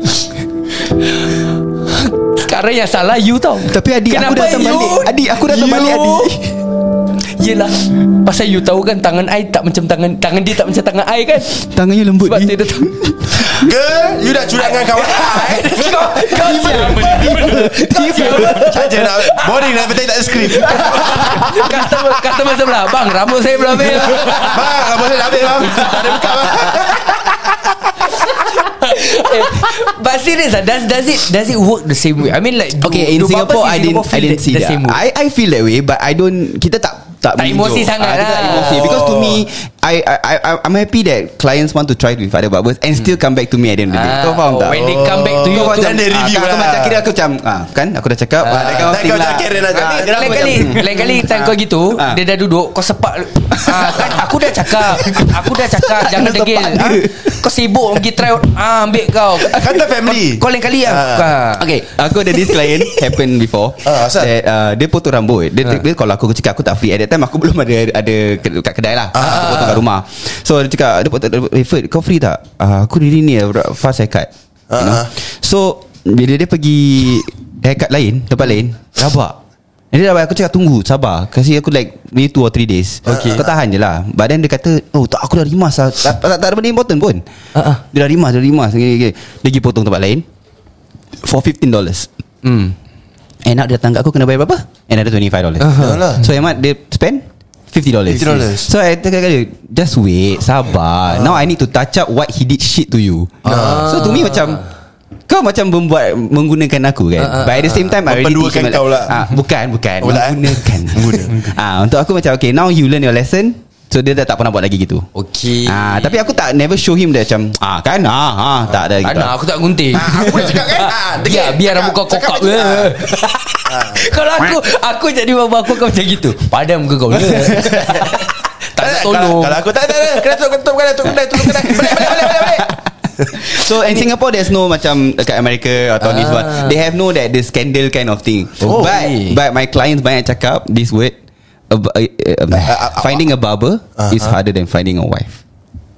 C: Sekarang yang salah you tau.
D: Tapi adik aku
C: Kenapa
D: datang
C: you?
D: balik. Adik aku datang
C: You?
D: balik adik.
C: Yelah, pasal you tahu kan tangan I tak macam tangan Tangan dia tak macam tangan I kan.
D: Tangannya lembut
C: Sebab
D: ni.
C: dia tahu.
B: Girl, you dah curang dengan kawan I.
C: Kau Kau siapa? Kau siapa?
B: Saja nak boring nak betul tak ada skrip.
C: Customer Customer sebelah, bang, rambut saya belum habis.
B: Bang, apa saya dah habis bang. Tak ada buka bang.
C: Eh, But serious lah, does does it does it work the same way? I mean like do,
D: Okay, in
C: do
D: Singapore,
C: barbers
D: I
C: in
D: didn't,
C: Singapore
D: I
C: feel
D: didn't
C: the,
D: see
C: the
D: that.
C: same way?
D: I, I feel that way, but I don't. Kita tak tak,
C: Tak emosi
D: menunjuk.
C: sangat
D: Ah, kita tak
C: lah.
D: emosi. Because to me, I, I I I'm happy that clients want to try with other barbers and still come back to me at the end of the day.
C: Ah,
D: Kau faham tak?
C: when they come back to you,
D: Kau
C: tu-
D: macam
B: Then they review
D: ah, kau
B: lah.
D: macam kira aku macam ah, kan aku dah cakap ah, that kind of
B: Then
D: thing
B: kau
D: lah.
B: macam Karen aja.
D: Ah,
C: Lain
D: dia
C: kali
D: macam-
C: Lain kali time kau gitu
D: Ah.
C: dia dah duduk, kau sepak ah, kan aku dah cakap Aku dah cakap jangan
D: Sepak
C: degil
D: dia.
C: ah, kau sibuk pergi try ah, ambil kau
B: Kata family.
C: Kau, kau lain kali lah ah.
D: Okay, aku ada this client happen before.
B: Ah, asal?
D: that, uh, dia potong rambut. Dia, dia kalau aku cakap aku tak free at that time, aku belum ada ada ke- kat kedai lah. Aku potong kat rumah. So dia cakap dia potong, eh Ferd, kau free tak? Uh, aku really ni fast haircut. You know?
B: Ah, ah.
D: So bila dia pergi haircut lain, tempat lain, rabak. Dia dah aku cakap tunggu, sabar. Kasih aku like maybe two or three days. Okay. Kau tahan je lah. But then dia kata, oh tak, aku dah rimas lah. Tak, tak, tak ada benda important pun.
C: Uh-uh.
D: Dia dah rimas, dia dah rimas. Okay, okay. Dia pergi potong tempat lain for fifteen dollars.
C: Hmm.
D: And nak dia datang kat aku kena bayar berapa? Another twenty-five dollars.
B: Yalah.
D: So hemat dia spend fifty dollars.
B: fifty dollars.
D: So I tell dia, just wait, sabar. Now I need to touch up what he did shit to you. So to me macam kau macam membuat menggunakan aku kan.
C: Ah, ah,
D: But at the same time I already
B: Memperduakan
D: teach him
B: kau
D: like,
B: lah.
D: ah, Bukan Bukan
B: Oh, tak, eh?
D: Menggunakan ah, Untuk aku macam okay, now you learn your lesson. So dia dah tak pernah buat lagi gitu.
C: Okay.
D: Ah, tapi aku tak never show him that macam ah kan ah, ah tak ada
C: Tak
D: gitu.
C: nak, aku tak gunting.
B: Aku dah cakap kan. Ah,
C: Biar, biar rambut kau
B: cakap
C: kokak.
B: macam tu. Ah.
C: Kalau aku Aku jadi bapa aku akan macam gitu. Padam muka kau. Tak nak
B: Kalau,
C: tolong.
B: kalau aku tak ada, kena tutup, tutup kedai, tutup kedai, tutup kedai. Balik, balik, balik, balik, balik.
D: So in Singapore there's no macam dekat America atau
C: Ah.
D: this one. They have no that the scandal kind of thing.
C: Oh.
D: But but my clients banyak cakap this word uh, uh, uh, finding a barber is harder than finding a wife.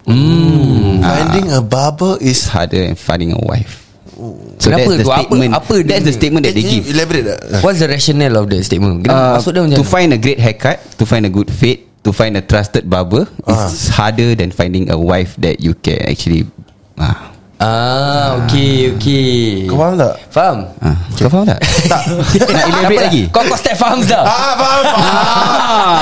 B: Finding a barber
D: It's
B: is
D: harder than finding a wife. So
C: Kenapa
D: that's the
C: tu? Apa-
D: statement.
C: apa
D: that's
C: dia
D: the statement that they
B: Can you
D: give.
B: elaborate tak?
C: What's the rationale of the statement? Kenapa?
D: Uh,
C: Maksud dia macam
D: to
C: mana?
D: find a great haircut, to find a good fit, to find a trusted barber is harder than finding a wife that you can actually. Ah,
C: Ah, okay, okay.
B: Kau faham tak?
C: Faham?
D: ah. Kau faham tak?
B: Tak.
D: Nak elaborate lagi?
C: Kau kau step faham dah.
B: Ah, faham, faham.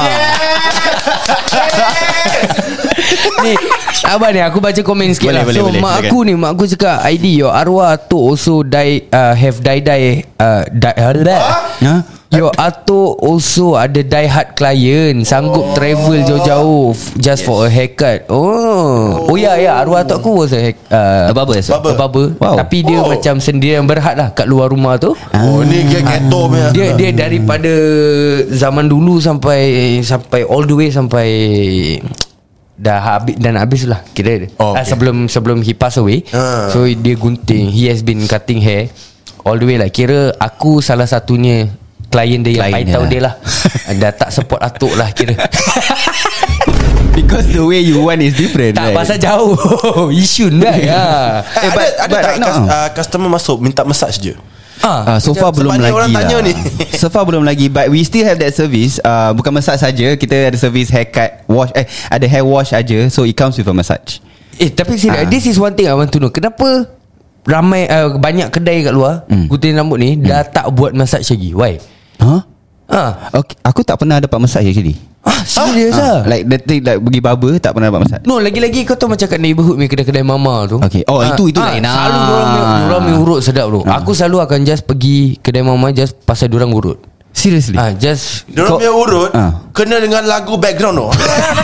C: Ni abang ni aku baca komen sikit
D: Boleh,
C: lah.
D: boleh,
C: So
D: boleh,
C: mak
D: silakan.
C: aku ni, mak aku cakap I D your arwah atuk also die uh, have die die uh, die
D: Ha?
C: Your atuk also ada die hard client, sanggup travel jauh-jauh f- just for a haircut. Oh, oh ya ya, arwah atuk aku was a hack, uh,
D: A barber,
C: a barber.
D: Wow.
C: Tapi dia
B: Oh.
C: macam sendirian berhad lah kat luar rumah tu.
B: Oh, ni dia ghetto punya.
C: Dia dia daripada zaman dulu sampai sampai all the way sampai dah habis dan habis lah kira.
B: Oh,
C: Ah,
B: okay.
C: sebelum sebelum he pass away.
B: Ah.
C: So dia gunting. He has been cutting hair all the way lah. Kira aku salah satunya klien dia yang
D: Klien
C: paitau
D: dia
C: dia lah. Dah tak support atuk lah kira.
D: Because the way you want is different.
C: Tak
D: right?
C: pasal jauh. Yishun lah ya.
B: Eh,
D: but-
B: ada ada
D: but
B: tak
D: right now-
B: cus- uh, customer masuk minta massage je?
C: Ah,
D: Uh, so far belum
B: sebab ni
D: lagi
B: orang tanya
D: lah.
B: ni.
D: So far belum lagi. But we still have that service. uh, Bukan massage saja. Kita ada service haircut, wash. Eh ada hair wash aja. So it comes with a massage.
C: Eh tapi serius,
D: Ah.
C: this is one thing I want to know. Kenapa ramai uh, banyak kedai kat luar
D: Hmm.
C: gunting rambut ni dah tak buat massage lagi? Why?
D: Huh?
C: Ah,
D: Okay, aku tak pernah dapat massage actually.
C: ah serius
D: Ah,
C: ah.
D: Like the thing like pergi barber tak pernah dapat massage.
C: No, lagi-lagi kau tahu macam kat neighborhood punya kedai-kedai mama tu.
D: Okay. Oh, itu- itu lain.
C: Selalu
D: Ah.
C: diorang diorang punya urut sedap tu.
D: Ah.
C: Aku selalu akan just pergi kedai mama just pasal diorang urut.
D: Seriously?
C: Ah, just
B: Diorang
C: kau
B: punya urut
D: Ah.
B: kena dengan lagu background tu.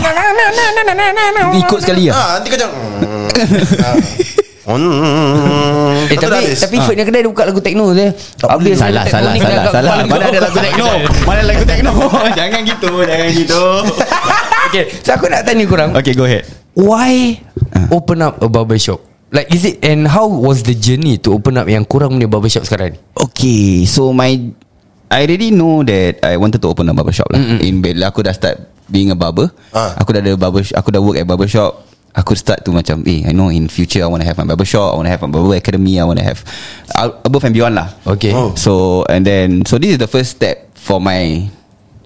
D: ikut sekali lah.
B: Ah, nanti kau macam Hmm.
C: Eh tapi tapi
D: Ah.
C: Ferdnya kedai dia buka lagu techno je. Habis
D: Salah,
C: lagu
D: salah,
C: teknonik
D: salah,
C: agak
D: salah.
C: kepala
D: Mana
C: kau.
D: ada lagu techno? Mana lagu techno? Jangan gitu, jangan gitu.
C: Okay, so aku nak tanya korang.
D: Okay, go ahead.
C: Why open up a barber shop? Like is it, and how was the journey to open up yang kurang punya barber shop sekarang ni?
D: Okay, so my I already know that I wanted to open a barber shop lah. Mm-hmm. In bila aku dah start being a barber,
B: Ah.
D: aku dah ada barber, aku dah work at barber shop. Aku start to macam, eh, I know in future I want to have my barber shop, I want to have my barber academy, I want to have uh, above and beyond lah.
C: Okay.
B: Oh.
D: So and then so this is the first step for my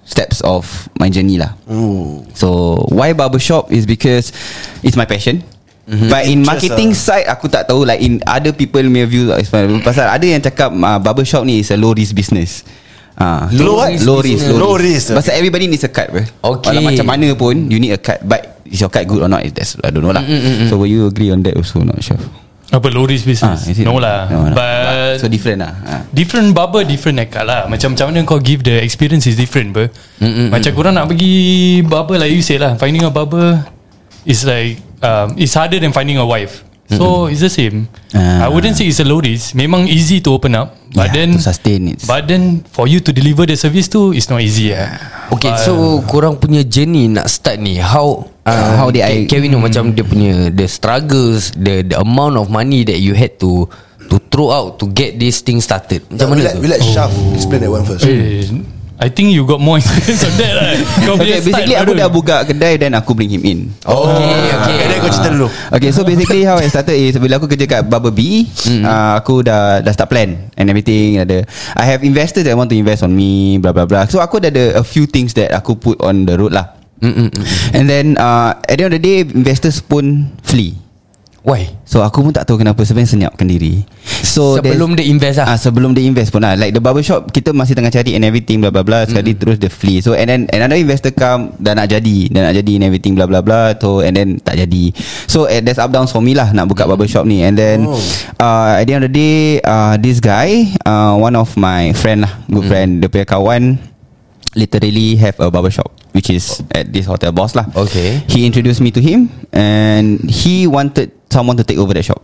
D: steps of my journey lah.
B: Ooh.
D: So why barbershop is because it's my passion. Mm-hmm. But in
B: Interest
D: marketing
B: lah.
D: side aku tak tahu, like in other people may view pasal ada yang cakap uh, barbershop ni is a low risk business. Ah,
B: Low what?
D: Low risk,
B: Low
D: low
B: risk.
D: risk. Pasal everybody needs a cut, bro.
C: Okay.
D: Walau macam mana pun you need a cut. But is your cut good or not? That's I don't know lah. Mm-mm. So will you agree on that also? Not sure.
F: Apa low risk business?
D: Ah, is it?
F: No lah.
D: No, no.
F: But
D: So different lah. Ah.
F: different barber, different haircut lah. Macam macam mana kau give the experience is different, bro.
C: Mm-mm.
F: Macam korang nak pergi barber, like you say lah, finding a barber is like um, it's harder than finding a wife. So mm-hmm. it's the same.
D: Ah.
F: I wouldn't say it's a low risk. Memang easy to open up, but
D: Yeah,
F: then
D: to sustain it.
F: But then for you to deliver the service tu, it's not easy. Yeah.
C: Okay,
F: But,
C: so korang punya journey nak start ni, how uh,
D: how did I-
C: can we know macam dia punya the struggles, the the amount of money that you had to to throw out to get this thing started. Macam
B: We
C: mana
B: let,
C: tu?
B: we let Shaf explain that one first.
F: eh, I think you got more experience on that lah. Kau
D: Okay,
F: punya start
D: basically aku
F: baru.
D: dah buka kedai then aku bring him in.
C: Oh, okay, okay.
B: Okay, then kau cerita dulu.
D: Okay, so basically how I started is bila aku kerja kat Barber B, mm-hmm. uh, aku dah dah start plan and everything. Ada, I have investors that want to invest on me, blah blah blah. So aku dah ada a few things that aku put on the road lah.
C: Mm-mm.
D: And then uh, at the end of the day, investors pun flee.
C: Why?
D: So aku pun tak tahu kenapa, sebenarnya senyapkan diri. So
C: Sebelum dia invest lah.
D: Ah, sebelum dia invest pun lah. Like the barbershop, kita masih tengah cari and everything, blah blah blah. Sekali mm. terus dia flee. So and then another investor come, dah nak jadi, dah nak jadi and everything, blah blah blah. So and then tak jadi. So uh, there's up downs for me lah nak buka mm. barbershop ni. And then oh. uh, at the end of the day, uh, this guy, uh, one of my friend lah, good mm. friend, dia punya kawan, literally have a barbershop, which is at this hotel boss lah.
C: Okay.
D: He introduced me to him, and he wanted someone to take over that shop.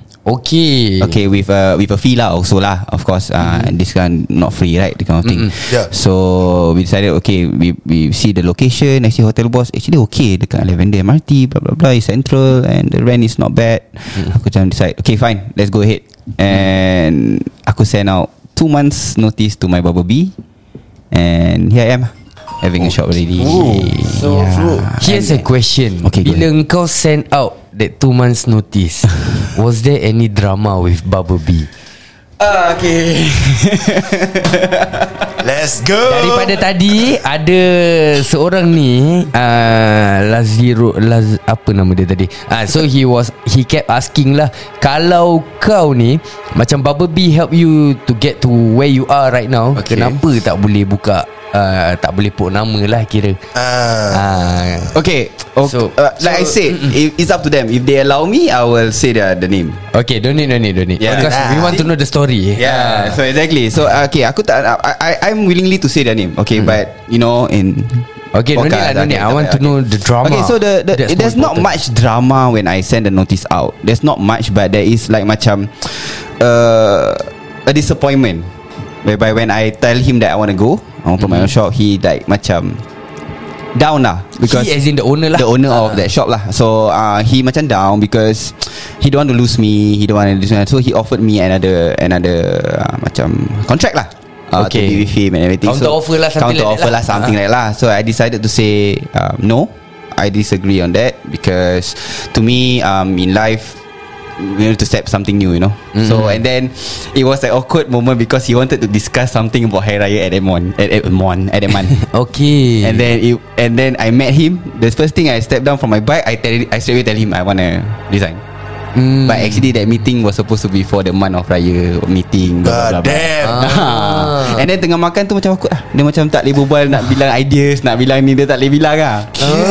C: Okay.
D: Okay, with a with a fee lah also lah, of course. Uh, mm-hmm. This kan not free, right? The kind of thing.
C: Mm-hmm.
B: Yeah.
D: So we decided, okay, we we see the location. I see hotel boss actually okay dekat Lavender M R T, blah blah blah, it's central and the rent is not bad. Mm-hmm. Aku macam decide, okay fine, let's go ahead. And aku send out two months notice to my barber B, and here I am, having a shop already.
B: Ooh.
C: So, so here's a question.
D: Okay, go
C: Bila kau send out that two months notice, was there any drama with Barber B?
D: Ah, okay.
B: Let's go.
C: Daripada tadi ada seorang ni uh, Laziro Laz, apa nama dia tadi? Ah, uh, so he was he kept asking lah, kalau kau ni macam Barber B help you to get to where you are right now,
D: Okay.
C: kenapa tak boleh buka uh, tak boleh put nama lah kira.
B: Ah.
C: Ah.
D: Okay, okay.
C: So-
D: uh, like
C: so-
D: I said, it, it's up to them. If they allow me, I will say the, the name.
C: Okay, don't need, don't need, don't need.
D: Yeah.
C: Because we want to know the story.
D: Yeah, so exactly. So uh, okay, aku tak, I, I I'm willingly to say their name. Okay,
C: Hmm.
D: but you know in
C: Okay, don't need lah, don't need. I want to know the drama.
D: Okay, so the, the
C: That's
D: there's
C: more
D: not much drama when I send the notice out. There's not much, but there is like macam uh, a disappointment whereby when I tell him that I want to go, I want to put my own shop, he like macam down lah because
C: He as in the owner lah.
D: the owner of that shop lah. So uh, he macam down because he don't want to lose me. He don't want to lose me. So he offered me another another uh, macam contract lah. Uh,
C: Okay.
D: To be with him and everything.
C: Counter
D: so,
C: offer lah, something
D: counter
C: like that
D: offer
C: lah.
D: lah, something
C: Ah.
D: like lah. So I decided to say um, no. I disagree on that because to me um, in life we need to step something new, you know. Mm-hmm. So and then it was an awkward moment because he wanted to discuss something about Hari Raya at Edmond at Edmond at Edmond.
C: Okay.
D: And then it, and then I met him. The first thing I stepped down from my bike, I tell I straight away tell him I wanna resign.
C: Mm.
D: But actually that meeting was supposed to be for the month of Raya meeting. Blah, blah,
B: God
D: blah,
B: damn.
D: blah. Ah. And then tengah makan tu macam awkward lah. Dia macam tak boleh berbual, nak bilang ideas, nak bilang ni, dia tak boleh bilang lah.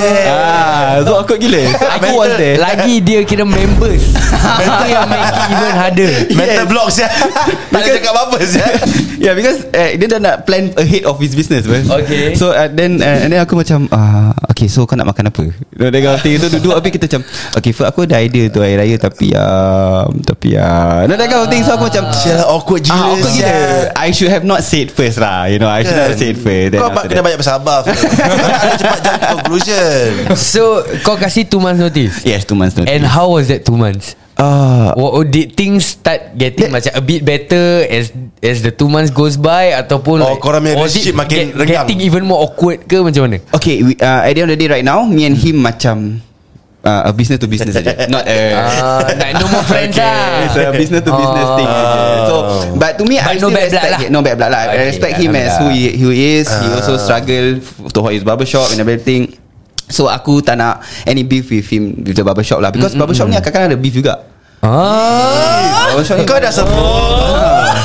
D: Ah, so awkward gila. Aku was there.
C: Lagi dia kira members. Itu yang make it even harder.
B: Mental block saya. Tak boleh cakap apa-apa saya.
D: Yeah, because uh, dia dah nak plan ahead of his business, bro.
C: Okay.
D: So uh, then uh, and then aku macam uh, okay, so kau nak makan apa? Dia kata itu duduk habis kita macam okay, Fir, aku ada idea tu hari raya tapi uh, tapi uh, no, that kind of thing. So aku macam
B: Sial, awkward gila.
D: ah, awkward gila.
B: sial.
D: I should have not said first lah. You know, I should
B: Kan?
D: have said first. Then
B: Kau
D: after
B: kena
D: that-
B: banyak bersabar. Kau tak ada cepat jump to conclusion.
C: So kau kasih two months notice.
D: Yes, two months notice.
C: And how was that two months?
D: uh,
C: Or, or did things start getting macam a bit better as as the two months goes by ataupun
B: Oh, korang punya
C: was it
B: relationship makin
C: get,
B: renggang?
C: getting even more awkward ke macam mana?
D: okay, we, uh, at the end of the day right now, me and him macam uh, a business to business saja. Not a
C: uh, like no more friends
D: okay,
C: lah.
D: it's a business to business
C: Oh.
D: thing saja. So but to me
C: But
D: I
C: no
D: still
C: bad blood
D: respect
C: lah.
D: him. No bad blood lah. I
C: Okay,
D: respect him as who he, who he is. He also struggle to hold his barbershop and everything. So aku tak nak any beef with him, with the barbershop lah. Because mm-hmm. barbershop ni kadang-kadang ada beef juga.
C: Ah.
D: Barbershop ni
B: Kau dah sebut.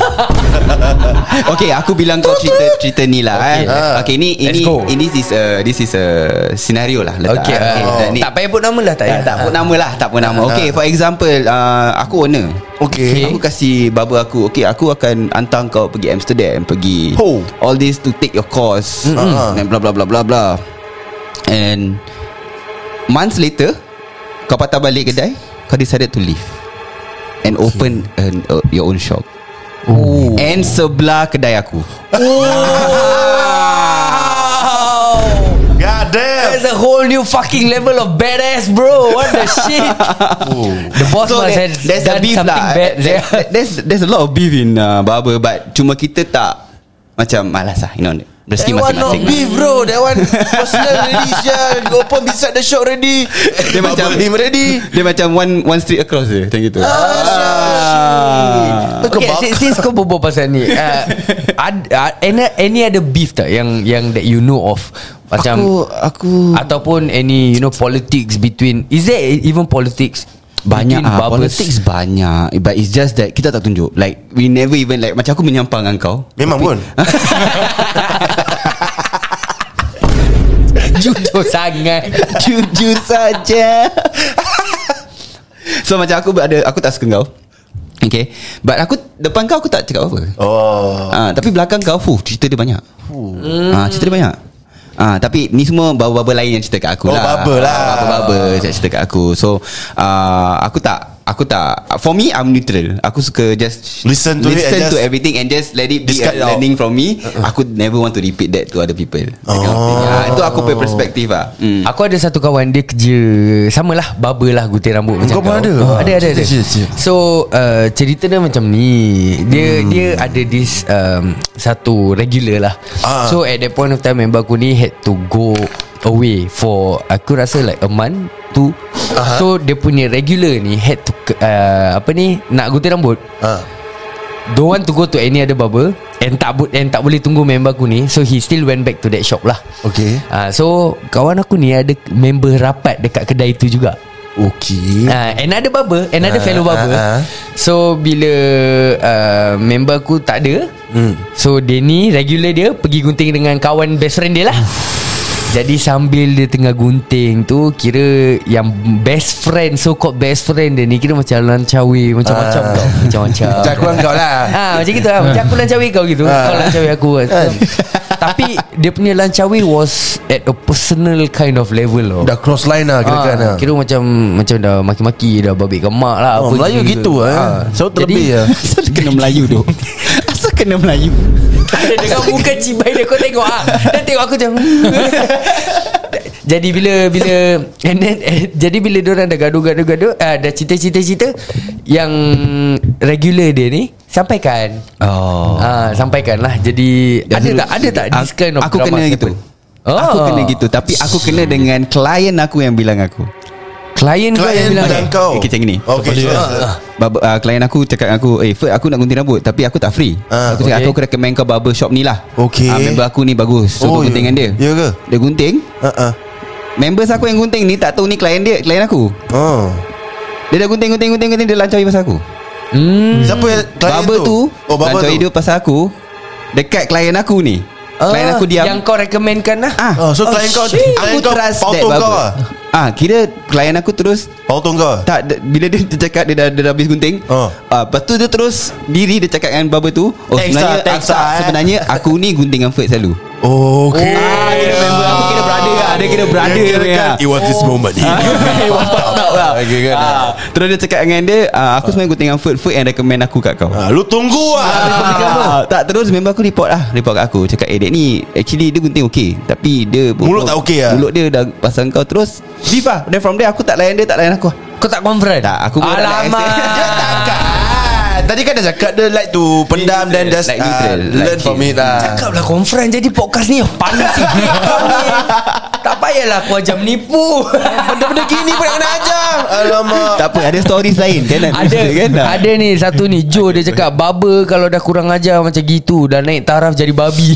D: Okay, aku bilang kau cerita cerita ni lah. Okay, eh. okay ini ini
C: go.
D: ini this is a this is a scenario lah. Letak.
C: Okay,
D: okay
C: uh,
D: ni,
C: tak payah put nama lah. Tak
D: tak,
C: payah
D: tak put nama lah, tak put nama. Okay, for example, uh, aku owner.
B: Okay.
D: Aku kasih barber aku, okay, aku akan hantar kau pergi Amsterdam, pergi
B: Oh.
D: all this to take your course,
B: Mm-hmm.
D: and blah blah blah blah blah. And months later, kau patah balik kedai, kau decided to leave and okay. open an, uh, your own shop.
C: Oh.
D: And sebelah kedai aku.
B: God damn.
C: There's a whole new fucking level of badass, bro. What the shit? The boss
D: So
C: must
D: there,
C: have
D: there's a
C: done
D: beef
C: something
D: lah.
C: bad.
D: There- There's there's a lot of beef in uh, barber, but cuma kita tak macam malas lah, you know. Rezeki
B: That one not
D: masing-masing.
B: beef bro. That one personal ready sial. You open beside the shop ready.
D: Dia macam
B: him ready.
D: Dia macam one one street across je, macam gitu.
B: Ah,
C: Okay, since, since kau berbual pasal ni, uh, ad, uh, any, any other beef tak yang yang that you know of? Macam
D: Aku aku
C: ataupun any you know politics between, is there even politics
D: banyak
C: between
D: ah,
C: barbers?
D: politics banyak, but it's just that kita tak tunjuk. Like we never even like, macam aku menyampang dengan kau.
B: Memang pun.
C: Jujur sangat.
D: Jujur saja. So macam aku ada, aku tak suka kau. Okay, but aku depan kau aku tak cakap apa.
B: Oh.
D: Ah, tapi belakang kau, fuh, cerita dia banyak. Ah, cerita dia banyak. Ah, tapi ni semua barber-barber lain yang cerita kat aku
B: Oh,
D: lah.
B: barber lah.
D: Ah, barber-barber yang cerita kat aku. So, ah, aku tak Aku tak For me, I'm neutral. Aku suka just
B: Listen to it
D: listen
B: and
D: to
B: just
D: everything and just let it be
B: discard
D: a
B: it out.
D: learning from me. Aku never want to repeat that to other people. That kind of thing. Ah, itu aku punya perspektif lah. Hmm.
C: Aku ada satu kawan, dia kerja sama lah, barber lah, gunting rambut macam
B: Kau pun ada?
C: Oh, ada ada ada.
B: Cerita, cerita.
C: So uh, cerita dia macam ni. Dia hmm. dia ada this um, satu regular lah.
B: Ah.
C: So at that point of time, member aku ni had to go away for, aku rasa like a month tu.
B: Aha.
C: So dia punya regular ni had to uh, apa ni, nak gunting rambut.
B: Ah.
C: Don't want to go to any other barber, and tak bu- and tak boleh tunggu member aku ni. So he still went back to that shop lah.
B: Okay.
C: Uh, so kawan aku ni ada member rapat dekat kedai tu juga.
B: Okay.
C: Uh, another barber, another
B: Ah,
C: fellow barber.
B: ah, ah.
C: So bila uh, member aku tak ada,
B: hmm.
C: so dia ni regular dia pergi gunting dengan kawan best friend dia lah. Jadi sambil dia tengah gunting tu, kira yang best friend, so called best friend dia ni kira macam lancawi, macam-macam
B: Ah.
C: kau, macam-macam.
B: Macam aku dengan kau lah.
C: Ha, macam gitu lah. Macam aku lancawi kau gitu.
B: Ah.
C: Kau lancawi aku. Tapi dia punya lancawi was at a personal kind of level loh.
B: Dah cross line lah kira-kira
C: Ah,
B: lah.
C: kira macam macam dah maki-maki, dah babik kemak lah.
B: Oh,
C: apa
B: Melayu gitu eh.
C: Ah.
B: Selalu terlebih
C: Jadi,
B: lah.
D: Asal dia kena Melayu tu? Asal kena Melayu?
C: Ada dengan muka cibai dia, kau tengok ah. Dia tengok aku macam jadi bila bila and then, eh, jadi bila diorang dah gaduh-gaduh-gaduh, ah, dah cerita-cerita-cerita, yang regular dia ni sampaikan.
D: Oh.
C: Ah, sampaikan lah. Jadi ada tak ada tak this kind of
D: Aku
C: drama
D: kena gitu.
C: happen?
D: Aku
C: Oh.
D: kena gitu. Tapi aku kena dengan klien aku yang bilang aku.
C: Klien kau yang
B: Klien
C: bilang
B: bilang kau.
D: Okay, macam ni.
B: Okay, sure.
D: Barber, uh, klien aku cakap dengan aku, eh Ferd, aku nak gunting rambut tapi aku tak free.
B: Ah,
D: Aku cakap,
C: okay.
D: aku recommend kau barber shop ni lah.
B: Okay.
D: Ah, member aku ni bagus. So
B: Oh,
D: kau gunting
B: ya.
D: dengan dia.
B: Ya ke?
D: Dia gunting.
B: Uh-uh.
D: Members aku yang gunting ni tak tahu ni klien dia, klien aku.
B: Oh.
D: Dia dah gunting gunting gunting gunting, dia lancawi pasal aku.
C: Hmm.
B: Siapa yang klien
D: Barber tu,
B: Oh, barber
D: lancawi
B: tu.
D: dia pasal aku dekat klien aku ni. Klien aku diam.
C: Yang kau recommendkan lah.
D: Ah,
B: Oh, so klien kau
C: shit.
B: klien
D: aku
B: kau
D: trust that
B: pautong kau
D: barber.
B: ah.
D: Ah, kira klien aku terus
B: Pautong kau.
D: tak, d- bila dia, dia cakap dia dah, dia dah habis gunting.
B: Oh.
D: Ah, lepas tu dia terus diri dia cakap dengan barber tu, oh
B: Thanks
D: sebenarnya
B: lah, thanks
D: tak,
B: lah, eh.
D: sebenarnya aku ni gunting dengan Ferd selalu.
B: Oh, okay.
D: Ah, kira member aku kira brother lah. Dia kira brother
B: Dia kira
D: punya.
B: kan, it was this moment.
D: It was fucked up lah.
B: Okay, kan.
D: Ah, terus dia cakap dengan dia, ah, aku sebenarnya gunting dengan Ferd, Ferd yang recommend aku kat kau.
B: Ah, lu tunggu lah.
D: Ah, tak, terus member aku report lah Report kat aku, cakap, eh dek ni actually dia gunting okay, tapi dia
B: Mulut tak okay lah.
D: Mulut dia dah pasal kau. Terus beef lah. Then from there aku tak layan dia, tak layan aku.
C: Kau tak confront?
D: Tak, aku pun tak layan.
C: Alamak.
B: Dia takkan. Tadi kan dah cakap dia like to pendam dan just
D: Like
B: uh,
D: neutral,
B: learn
D: like
B: from
D: chill.
B: it lah.
C: Cakap lah conference. Jadi podcast ni panas sikit kau ni. Tak payahlah aku ajar menipu.
B: Benda-benda gini pun nak kena ajar. Alamak.
D: Tak apa, ada stories lain kan?
C: Ada
D: kan?
C: Ada ni satu ni Joe dia cakap barber kalau dah kurang ajar macam gitu dah naik taraf jadi babi.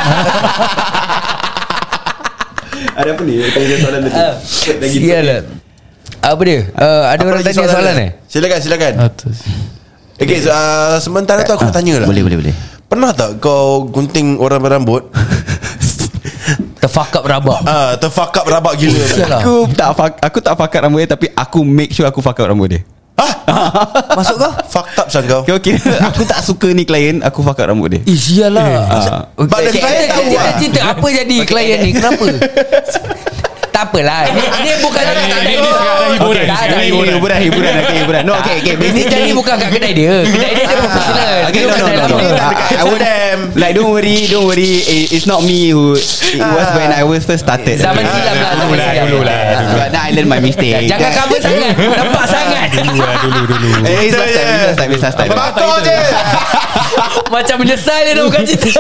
D: Ada apa ni? Tanya soalan tadi.
C: Sialah. Apa dia? Uh, ada
B: Apa
C: orang
B: lagi
C: tanya soalan
B: dia?
C: eh?
B: Silakan silakan.
F: Atas.
B: Okay, so, uh, sementara tu aku nak tanya lah.
D: Boleh, boleh, boleh.
B: Pernah tak kau gunting orang berambut?
C: Terfuck up rabak.
B: Ah, terfuck up rabak gila.
C: Sialah.
D: Aku tak fuck, aku tak fuck up rambut dia, tapi aku make sure aku fuck up rambut dia.
C: Masuk kau?
B: Fucked up sang kau.
D: Okay, okay. Aku tak suka ni klien, aku fuck up rambut dia.
C: Eh sialah.
D: Ah.
B: But the client tahu
C: Cerita,
B: lah.
C: cerita apa jadi klien ni? Kenapa? Tak apalah. Ni, ni bukan
F: Ni-
C: tak
F: ni-
C: ada.
F: ni sekarang hiburan,
C: Tak
F: sekarang
C: ada.
F: hiburan.
D: Hiburan, hiburan, okay, hiburan. No, okay, okay.
C: Ini jadi bukan kat kedai dia. Kedai dia dia profesional.
D: Okay,
C: Dia
D: no,
C: bukan
D: no,
C: kedai
D: no, no.
C: lama.
B: Dekat
D: I, I would,
B: Amsterdam.
D: like, don't worry, don't worry. It, it's not me who. It was when I was first started.
C: Zaman silam lah.
F: Dulu lah, dulu lah.
D: But now I learn my mistake.
C: Jangan cover sangat. Nampak sangat.
F: Dulu lah, dulu, dulu.
D: Eh, it's last time, it's last time, it's last time.
B: Bakar je.
C: Macam menyesal dia nak bukan cerita.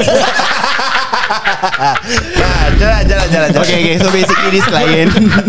B: Ah, Jalan jalan jalan jalan.
D: Okay, okay. So basically this client.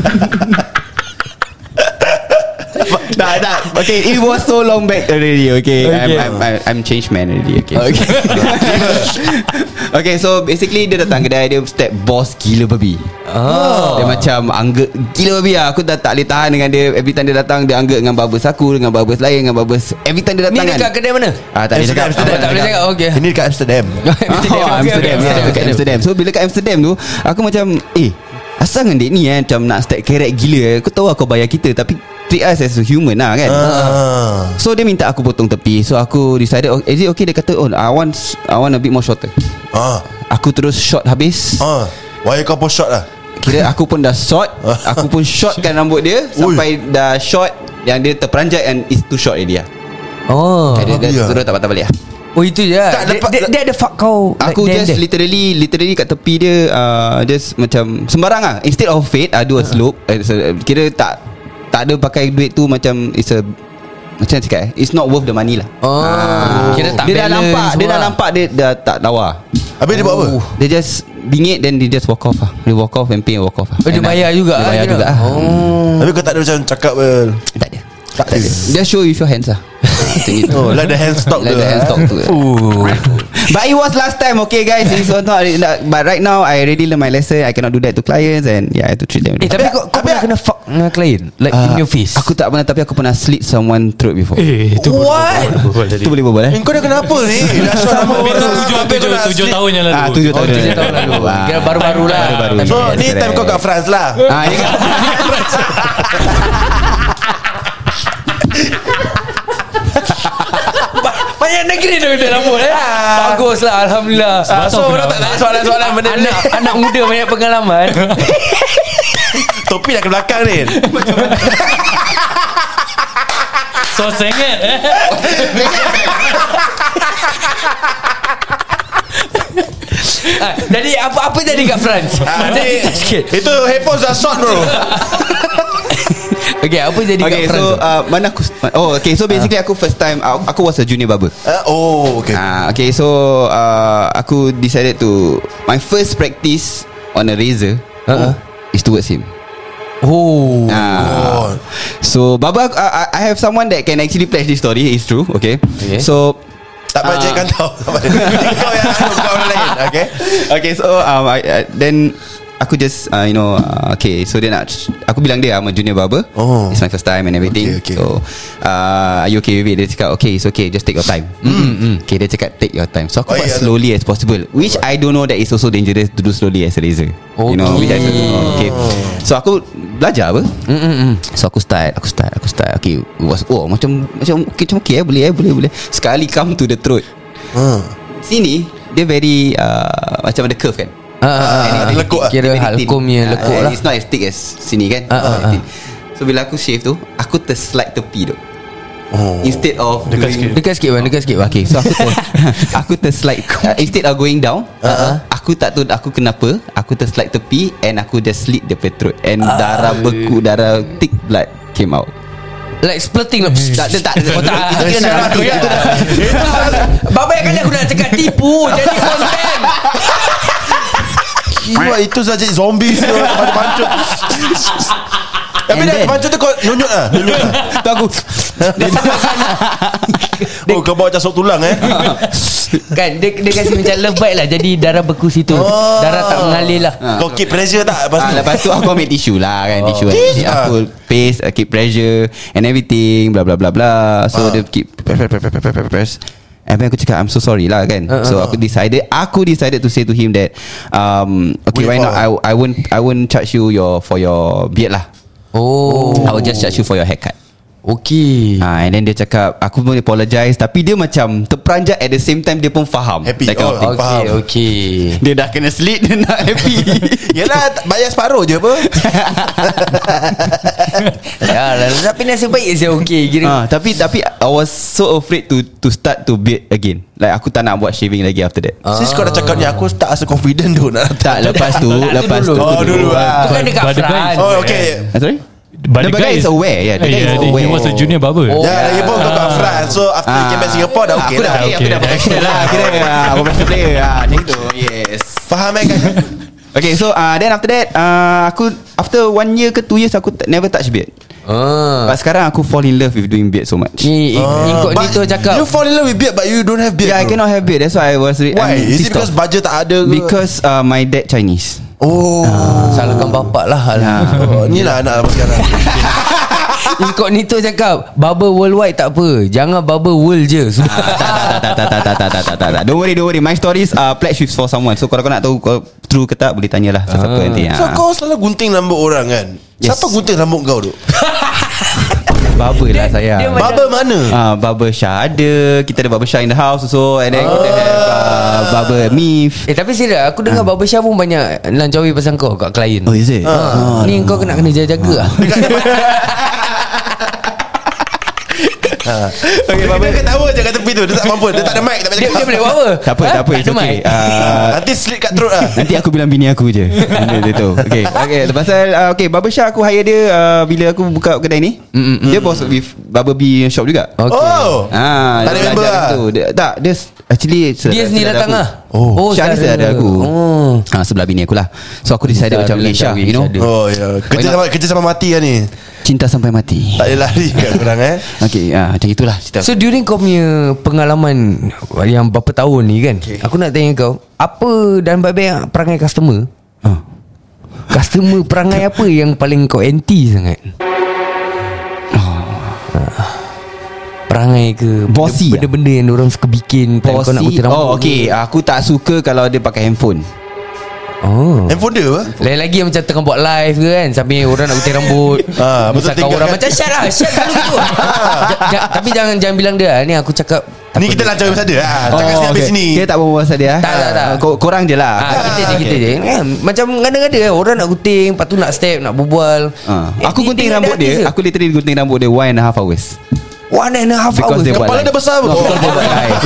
D: Nah, nah. Okay, it was so long back already. Okay,
C: Okay.
D: I'm, I'm, I'm, I'm changed man already. Okay.
C: Okay.
D: Okay, so basically dia datang kedai dia step boss gila babi.
C: Oh.
D: Dia macam angget gila babi lah. Aku dah tak boleh tahan dengan dia. Every time dia datang, dia angget dengan barbers aku, dengan barbers lain, dengan barbers. Every time dia
C: Ni
D: datang
C: dekat
D: kan.
C: kedai mana?
D: Ah, tak boleh cakap.
B: Amsterdam,
C: Tak boleh cakap. Okay.
B: Ini dekat Amsterdam.
D: Oh, Amsterdam,
C: okay,
D: yeah,
C: okay.
D: dekat Amsterdam. So bila kat Amsterdam tu, aku macam, eh, asal dengan dek ni eh, macam nak stack carrot gila eh. Aku tahu kau bayar kita, tapi treat us as a human lah kan.
B: Ah.
D: So dia minta aku potong tepi. So aku decided, oh, is it okay? Dia kata, oh, I want I want a bit more shorter.
B: Ah.
D: Aku terus short habis.
B: Ah. Why kau pun shot lah.
D: Kira aku pun dah short. Aku pun shortkan rambut dia sampai dah short yang dia terperanjat and it's too short already lah.
C: Oh.
D: Dia, dia,
B: babi lah.
D: dia terus tak patah balik lah.
C: Oh itu je.
B: Tak,
C: Dia,
B: lepas-
C: dia, dia ada fuck kau.
D: Aku
C: like,
D: just
C: there, there.
D: literally Literally kat tepi dia uh, Just macam sembarang lah. Instead of fade, I do a slope. uh, so, Kira tak Tak ada pakai duit tu macam it's a macam cakap eh, it's not worth the money lah.
C: Oh. Kira tak
D: Dia dah
C: balance
D: nampak Dia dah
C: semua.
D: nampak Dia dah tak lawa.
B: Habis dia buat apa?
D: Dia just bingit. Then dia just walk off lah. Dia walk off and pay and walk off lah.
C: Oh, dia
D: And
C: bayar
D: I-
C: juga
D: Dia
C: lah,
D: bayar
C: kira.
D: juga lah.
C: Oh.
B: Tapi kau tak ada macam cakap well.
D: Tak ada.
B: Tak ada.
D: Just show with your hands lah. Macam gitu.
B: Oh, like the hand stock
D: Like
B: tu.
D: the hand stock tu. But it was last time. Okay guys, it's not, but right now I already learn my lesson. I cannot do that to clients. And yeah, I have to treat them.
C: Eh tapi kau, kau pernah kena fuck dengan klien? Like in your face?
D: Aku tak pernah, tapi aku pernah slit someone throat before.
F: Eh, itu
B: What?
D: Itu boleh berbual eh?
B: Eh, kau dah kenapa ni? Dah shot sama
F: Tapi itu
B: orang.
F: tujuh,
B: Habis
F: tujuh,
B: kau nak
F: tujuh
B: sleep.
F: tahun yang lalu.
D: Ah, tujuh
C: Oh,
D: tahun.
C: tujuh tahun lalu.
D: Ah.
C: Kira baru-baru lah.
D: Baru-baru.
B: So
D: Yes,
B: ni time
D: correct.
B: kau kat France lah.
D: Ah, ni kan.
C: Banyak negeri tu kita rambut eh. Bagus lah. Alhamdulillah.
B: Ah, so orang tak tanya soalan-soalan benda ni.
C: Anak, anak muda banyak pengalaman.
B: Topi dah ke belakang ni.
F: So sengit eh.
C: Ah, jadi apa-apa jadi kat France?
B: Ah,
C: Jadi
B: ni-
C: cerita sikit.
B: Itu headphones dah short bro.
C: Okay, apa jadi
D: Okay,
C: kat France?
D: so uh, mana aku? Oh, okay. So basically aku first time aku, aku was a junior barber.
B: Ah, oh, okay.
D: Ah, okay. So uh, aku decided to my first practice on a razor
C: Uh-uh.
D: is towards him.
C: Oh.
D: Ah. So Baba, uh, I have someone that can actually pledge this story. It's true. Okay.
C: Okay.
D: So
B: Tak baca kan tahu. Kau yang anu, kau orang lain. Okay.
D: okay, so um, I, uh, then aku just uh, you know uh, okay, so dia nak, aku bilang dia I'm a junior barber.
B: Oh.
D: It's my first time and everything.
B: Okay, okay.
D: So uh, are you okay with it? Dia cakap okay, it's okay, just take your time. Mm. Okay, dia cakap take your time. So aku
B: Oh,
D: buat
B: yeah,
D: slowly as possible, which I don't know that it's also dangerous to do slowly as a razor. You know, which I don't know. Okay. So aku belajar apa? Mm-mm. So aku start, aku start, aku start. Okay, it was oh macam macam okay, macam okay eh, boleh eh, boleh boleh. Sekali come to the throat.
B: Hmm.
D: Sini dia very uh, macam ada curve kan.
C: Ah, ah, ah,
B: Ini lekuk lah.
C: Kira halkumnya lekuk lah.
D: It's not as thick as sini kan.
C: Ah, ah,
D: It's
C: ah.
D: thin. So bila aku shave tu, aku terslide tepi tu.
B: Oh.
D: Instead of
F: Dekat
D: doing,
F: sikit.
C: Dekat sikit bang, dekat sikit bang.
D: Okay, so aku ter, aku terslide uh, instead of going down, uh-huh. aku tak tahu aku kenapa, aku terslide tepi and aku just slit the throat and darah beku, darah thick blood came out.
C: Like splitting lah. Tak ada tak. Oh tak.
D: Itu kira nak mati. Itu dah.
C: Babai kali aku nak cakap tipu. Jadi konten.
B: Kira itu saja zombie semua terpancut. Tapi dah terpancut tu kau nunjuk lah. Nunjuk lah.
D: Tu aku.
B: Oh kau bawa macam sok tulang eh.
C: Kan dia, dia kasi macam love bite lah. Jadi darah beku situ.
B: Oh.
C: Darah tak mengalir lah.
B: Kau keep pressure tak lepas
D: Ah,
B: tu?
D: lepas tu aku ambil tisu lah kan, tisu.
B: Tisu?
D: Aku paste, uh, keep pressure and everything, bla bla bla bla. So
B: Ah.
D: dia keep press press press press press press. And then aku cakap I'm so sorry lah kan.
C: Uh, uh,
D: So aku decided Aku decided to say to him that um, okay,
B: Wait
D: why not
B: for-
D: I I won't I won't charge you your for your beard lah.
C: Oh.
D: I will just charge you for your haircut.
C: Okay.
D: Ah, and then dia cakap aku pun apologize, tapi dia macam terperanjat at the same time dia pun faham.
B: Happy.
D: That kind of
B: Oh,
D: thing.
C: Okay,
B: faham.
C: okay.
D: Dia dah kena slit, dia nak happy.
B: Yelah bayar separuh je apa.
C: Ya lah, tapi nasib baik saya okay. Kira
D: Ah, tapi tapi I was so afraid to to start to beard again. Like aku tak nak buat shaving lagi after that.
B: Since kau dah cakap ni aku tak rasa confident tu nak.
D: Tak, lepas tu, lepas tu.
B: Oh, dulu
C: tu
B: ah.
C: kan dekat
F: But the guy-
C: France.
B: Oh okay.
D: Ah, sorry?
F: But
D: The guy is aware, yeah, the guy is
F: yeah,
D: aware.
F: He was a junior barber.
C: Oh.
B: Ya lagi pun kau kat France. So after you came back Singapore dah okay
D: Aku dah
B: dah.
D: okay, aku
F: Okay,
D: dah
F: dah
D: professional lah. Kira ah, professional player ah, macam tu. Yes.
B: Faham eh kan?
D: Okay, so uh, then after that uh, aku after one year ke two years aku t- never touch beard.
C: Ah.
D: But sekarang aku fall in love with doing beard so much.
C: Ni incognito
B: But
C: cakap.
B: You fall in love with beard but you don't have beard.
D: Yeah, I
B: bro.
D: cannot have beard. That's why I was re-
B: Why?
D: I'm
B: Is it
D: pissed
B: because
D: off.
B: budget tak ada ke?
D: Because uh, my dad Chinese.
B: Oh,
C: Salahkan bapak lah.
B: oh ni lah anak apa sekarang.
C: Incognito cakap barber worldwide tak apa. Jangan barber world je.
D: tak, tak, tak, tak, tak, tak, tak, tak, tak, tak. Don't worry, don't worry. My stories are pledged with for someone. So kalau kau nak tahu kau true ke tak, boleh tanyalah siapa nanti.
B: So
D: Ah.
B: kau selalu gunting rambut orang kan?
D: Yes.
B: Siapa gunting rambut kau tu?
D: Barber lah saya.
C: dia macam-
B: Barber mana?
D: Ah, barber Shah ada. Kita ada barber Shah in the house also. And then kita have uh, barber Mif.
C: Eh tapi serius aku dengar barbershop pun banyak lancawi pasal kau kat klien.
D: Oh, is it?
C: Ha. Ni kau kena kena jaga-jaga lah.
B: Okay, barber dia ketawa je kat tepi tu. Dia tak mampu. Dia tak ada mic. Tak boleh
C: Dia,
B: cakap.
C: dia boleh buat apa?
D: Tak apa,
C: Ha?
D: tak apa. It's
C: ada
D: okay.
C: mic?
D: Ah,
B: Nanti slit kat throat lah.
D: nanti aku bilang bini aku je. Benda dia tu. Okay, okay. Pasal uh, okay, barbershop aku hire dia uh, bila aku buka kedai ni. Mm-mm. Dia bos with barber B shop juga.
C: Okay.
B: Oh.
D: Ah,
B: Tak ada
D: dia
B: member
D: belajar
B: lah.
D: tu. Dia, tak, dia s- actually
C: Dia sendiri datang lah.
B: Oh.
D: Syah ni
C: saudara.
D: saudara aku.
C: Oh.
D: Ah, sebelah bini aku lah. So aku decided
C: Saudara
D: macam okay, Syah,
C: Lancawi,
D: you know,
C: saudara.
B: Oh ya. Kerja sama kerja sama mati lah ni.
D: cinta sampai mati.
B: Tak boleh lari kat korang eh.
D: Okay, ah, macam itulah cerita.
C: So during kau punya pengalaman yang berapa tahun ni kan, okay, aku nak tanya kau, apa dan baik-baik perangai customer?
D: Ah.
C: Customer perangai apa yang paling kau anti sangat? Ah. Perangai ke
D: Bossy
C: benda-benda yang orang suka bikin time kau nak
D: Bossy.
C: gunting rambut
D: Oh, okay.
C: ke?
D: Aku tak suka kalau dia pakai handphone.
C: Oh.
B: Handphone dia apa?
C: Lain lagi yang macam tengah buat live ke kan, sambil orang nak gunting rambut.
B: Ah, betul,
C: Misalkan
B: tinggal
C: orang
B: kan.
C: macam Syed lah, Syed selalu gitu. Ja- ja- Tapi jangan jangan bilang dia, ni aku cakap
B: Ni kita lancar pasal dia lah. Cakap sini habis sini.
D: Kita tak berbual pasal dia.
C: Tak, tak, tak.
D: Ko- Korang je lah.
C: Ah, kita je kita je kan? Macam ngada-ngada orang nak gunting, lepas tu nak step, nak berbual.
D: Ah.
C: Eh,
D: Aku
C: ni
D: gunting
C: tengok
D: rambut
C: ada
D: dia.
C: artis ke?
D: Aku literally gunting rambut dia one and a half hours.
C: One and a half
D: Because
C: hours.
D: dia buat
B: Kepala
D: live.
B: dia besar
D: No,
B: betul.
D: because dia buat live.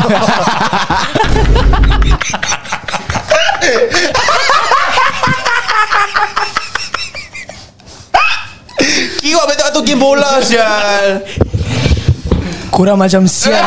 B: Kira betul tu game bola sial.
G: Kurang macam sial.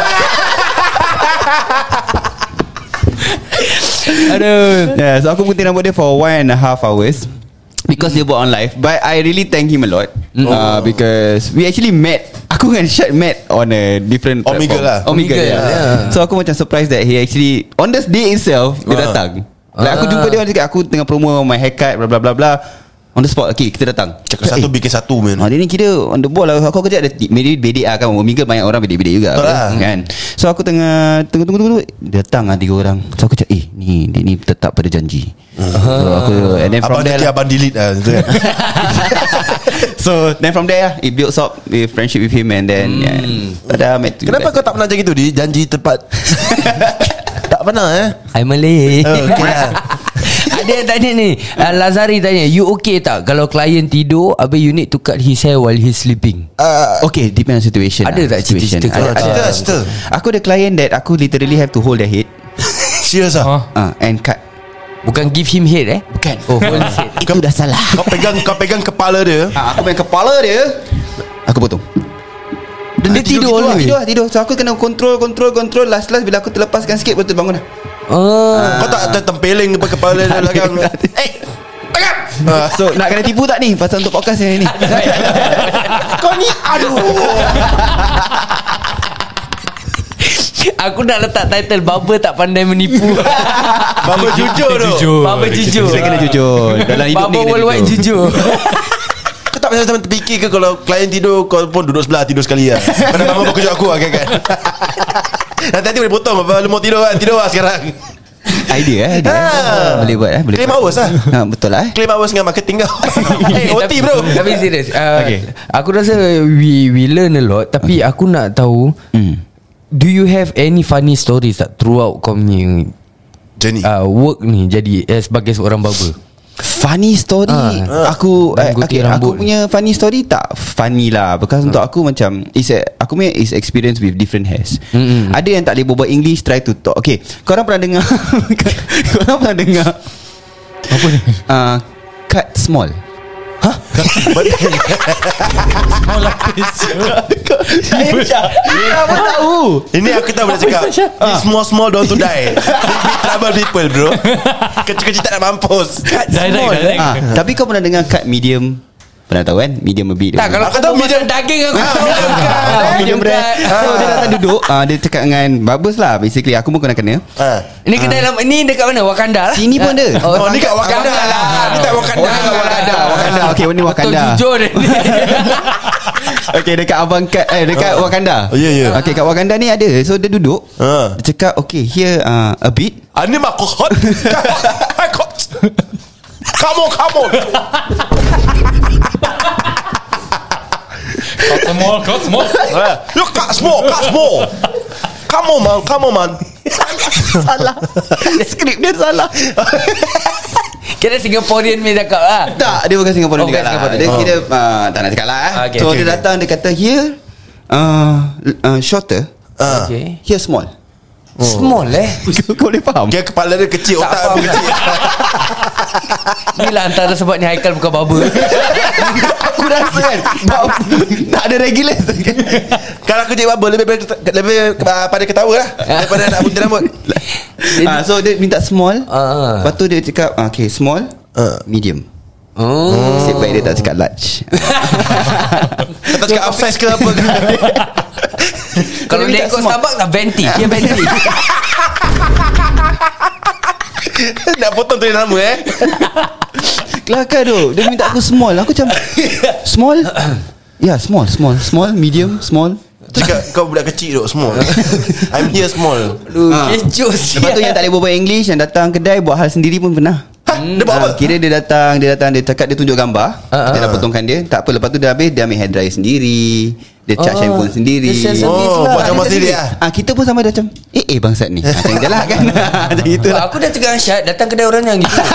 C: Aduh.
D: Yeah, so aku gunting rambut dia for one and a half hours because dia buat on live. But I really thank him a lot uh, because we actually met. Aku dengan Syed met on a different
B: Omegle
D: platform.
B: lah.
D: Omegle,
C: Omegle,
D: yeah.
C: yeah.
D: So aku macam surprised that he actually on this day itself dia
B: Ah.
D: datang. Like aku jumpa dia, dia cakap aku tengah promo my haircut bla bla bla bla. On the spot. Okay, kita datang.
B: Cakap satu bikin satu man.
D: Ah, dia ni kira on the ball lah. Kau kerja ada maybe bedek lah kan. Omegle banyak orang bedek-bedek juga
B: Betul lah.
D: kan. So aku tengah tunggu tunggu tunggu datang lah tiga orang. So aku cakap eh ni dia ni tetap pada janji. So aku and then from
B: Abang
D: there
B: nanti
D: lah,
B: abang delete lah tu kan.
D: so then from there lah, it builds up with friendship with him and then yeah, ada met.
B: Kenapa kau tak pernah macam gitu di janji tepat? Tak pernah eh.
C: Hai Malay.
B: Oh, okay lah.
C: Ada yang tanya ni, uh, Lazari tanya, you okay tak kalau klien tidur habis you need to cut his hair while he's sleeping?
B: Uh,
D: Okay, depend on situation.
C: Ada
D: lah,
C: tak
D: situation.
C: cerita-cerita
D: Ada,
C: kau?
D: ada.
B: Cerita, cerita.
D: Aku ada client that aku literally have to hold their head
B: Serius
F: Huh?
B: ah.
D: uh, and cut.
C: Bukan give him head eh?
D: Bukan.
C: Oh, hold his head.
D: Itu dah salah.
B: Kau pegang kau pegang kepala dia.
D: Ha, aku main kepala dia, aku potong.
C: Dia tidur
D: tidur,
C: always.
D: tidur, tidur. So aku kena control, control, control. Last last bila aku terlepaskan sikit, betul bangun dah.
C: Oh.
B: Kau tak tertempeling depan kepala dia belakang. Eh, belakang.
D: Ah, so nak kena tipu tak ni pasal untuk podcast yang ni?
B: Kau ni aduh.
C: Aku nak letak title Baba tak pandai menipu.
B: Baba jujur tu.
F: Jujur.
C: Baba jujur.
D: Saya kena jujur. Dalam hidup
C: Baba
D: ni kena
C: worldwide jujur.
B: Kau tak macam terfikir ke kalau klien tidur kau pun duduk sebelah tidur sekali lah. Kau dah bangun kejut aku lah kan. Nanti-nanti boleh potong apa lu mau tidur kan. Tidur lah sekarang.
D: Idea eh, idea.
B: Ah.
D: Boleh buat eh, boleh.
B: Claim
D: buat.
B: hours lah.
D: Ha, betul lah eh.
B: Claim hours dengan marketing kau. Eh O T
C: Tapi-
B: bro.
C: Tapi serius uh,
D: Okay.
C: Aku rasa We we learn a lot. Tapi aku nak tahu,
D: Hmm.
C: do you have any funny stories tak throughout kau punya
B: Journey
C: uh, work ni jadi eh, sebagai seorang barber?
D: Funny story
C: Ah.
D: Aku
C: Dan
D: eh,
C: gunting
D: okay, Aku
C: rambut.
D: punya funny story tak funny lah. Because untuk aku macam is a, aku punya is experience with different hairs.
C: Mm-mm.
D: Ada yang tak boleh berbual English, try to talk. Okay, korang pernah dengar Korang pernah dengar
F: Apa ni?
D: uh, cut small?
F: Small lapis.
D: Saya pun tahu.
B: Ini aku tahu boleh cakap. This small small don't to die. Big big trouble people bro. Kecil-kecil tak nak mampus.
F: Direct,
B: Small, eh?
F: direct.
D: Ah, tapi kau pernah dengar cut medium? Pernah tahu kan? Medium a bit.
C: Tak, kalau
B: Aku
C: kau
B: tahu
C: tahu medium daging aku tahu.
D: Ah, medium rare. So dia datang duduk, ah, dia cakap dengan barbers lah. Basically aku pun kena-kena.
B: Ha.
C: Ini kedai lama, ni dekat mana? Wakanda lah.
D: Sini pun ada.
B: Oh, ni kat Wakanda lah. Ni tak Wakanda.
D: Wakanda, Wakanda. Okay, ni
C: Betul
D: Wakanda.
C: jujur dia ni.
D: Okay, dekat Abang Kat eh dekat Wakanda.
B: Oh, ya, ya.
D: Okay, kat Wakanda ni ada. So dia duduk.
B: Ha.
D: Dia cakap, okay, here uh, a bit.
B: Ah, ni mak hot. Come on, come on.
F: Cut small, cut small.
B: You cut small, cut small. Come on man, come on man.
D: Salah. Skrip dia salah.
C: Kira Singaporean ni cakap lah.
D: Tak, dia bukan Singapura
C: Oh,
D: juga
C: bukan
D: lah.
C: Singaporean.
D: Dia
C: Oh.
D: kira uh, tak nak cakap lah. eh.
C: Okay,
D: so
C: okay,
D: dia
C: okay.
D: datang, dia kata here uh, uh, shorter,
B: Ah.
C: Okay.
D: here small.
C: Small eh.
D: Kau boleh faham?
B: Dia kepala dia kecil,
C: Tak
B: otak
C: faham.
B: pun kecil.
C: Ni lah antara sebab ni Haikal bukan barber.
D: Aku rasa kan tak ada regular.
B: Kalau aku jadi barber lebih lebih, lebih uh, pada ketawa lah daripada nak gunting rambut.
D: Ah, so dia minta small.
C: Ah.
D: Lepas tu dia cakap ah, okay, small,
B: Ah.
D: medium.
C: Oh.
D: Nasib baik dia tak cakap large.
B: Kau tak cakap upsize ke apa ke?
C: Kalau
D: Dia
C: dia
D: minta
C: ikut
D: small.
C: Starbucks tak venti. Dia venti.
B: Nak potong tu nama eh.
D: Kelakar tu. Dia minta aku small. Aku macam small. Ya, yeah, small, small, small, medium, small.
B: Cakap kau budak kecil duk small. I'm here small.
C: Aduh,
D: Ah.
C: kecoh
D: Lepas tu yang tak boleh berbual English, yang datang kedai buat hal sendiri pun pernah.
B: Ha, dia buat apa?
D: Ah, kira dia datang, dia datang, dia cakap dia tunjuk gambar.
C: Ah,
D: Dia
C: ah.
D: dah potongkan dia. Tak apa, lepas tu dia habis, dia ambil hair dryer sendiri. Dia charge
C: Oh,
D: handphone sendiri.
C: dia self service
B: Oh,
C: lah.
B: buat gambar sendiri lah.
D: Ah, kita pun sama dia macam eh eh bangsat ni. Macam je lah kan. Macam gitu lah.
C: Aku dah cakap dengan Syed, datang kedai orang yang gitu.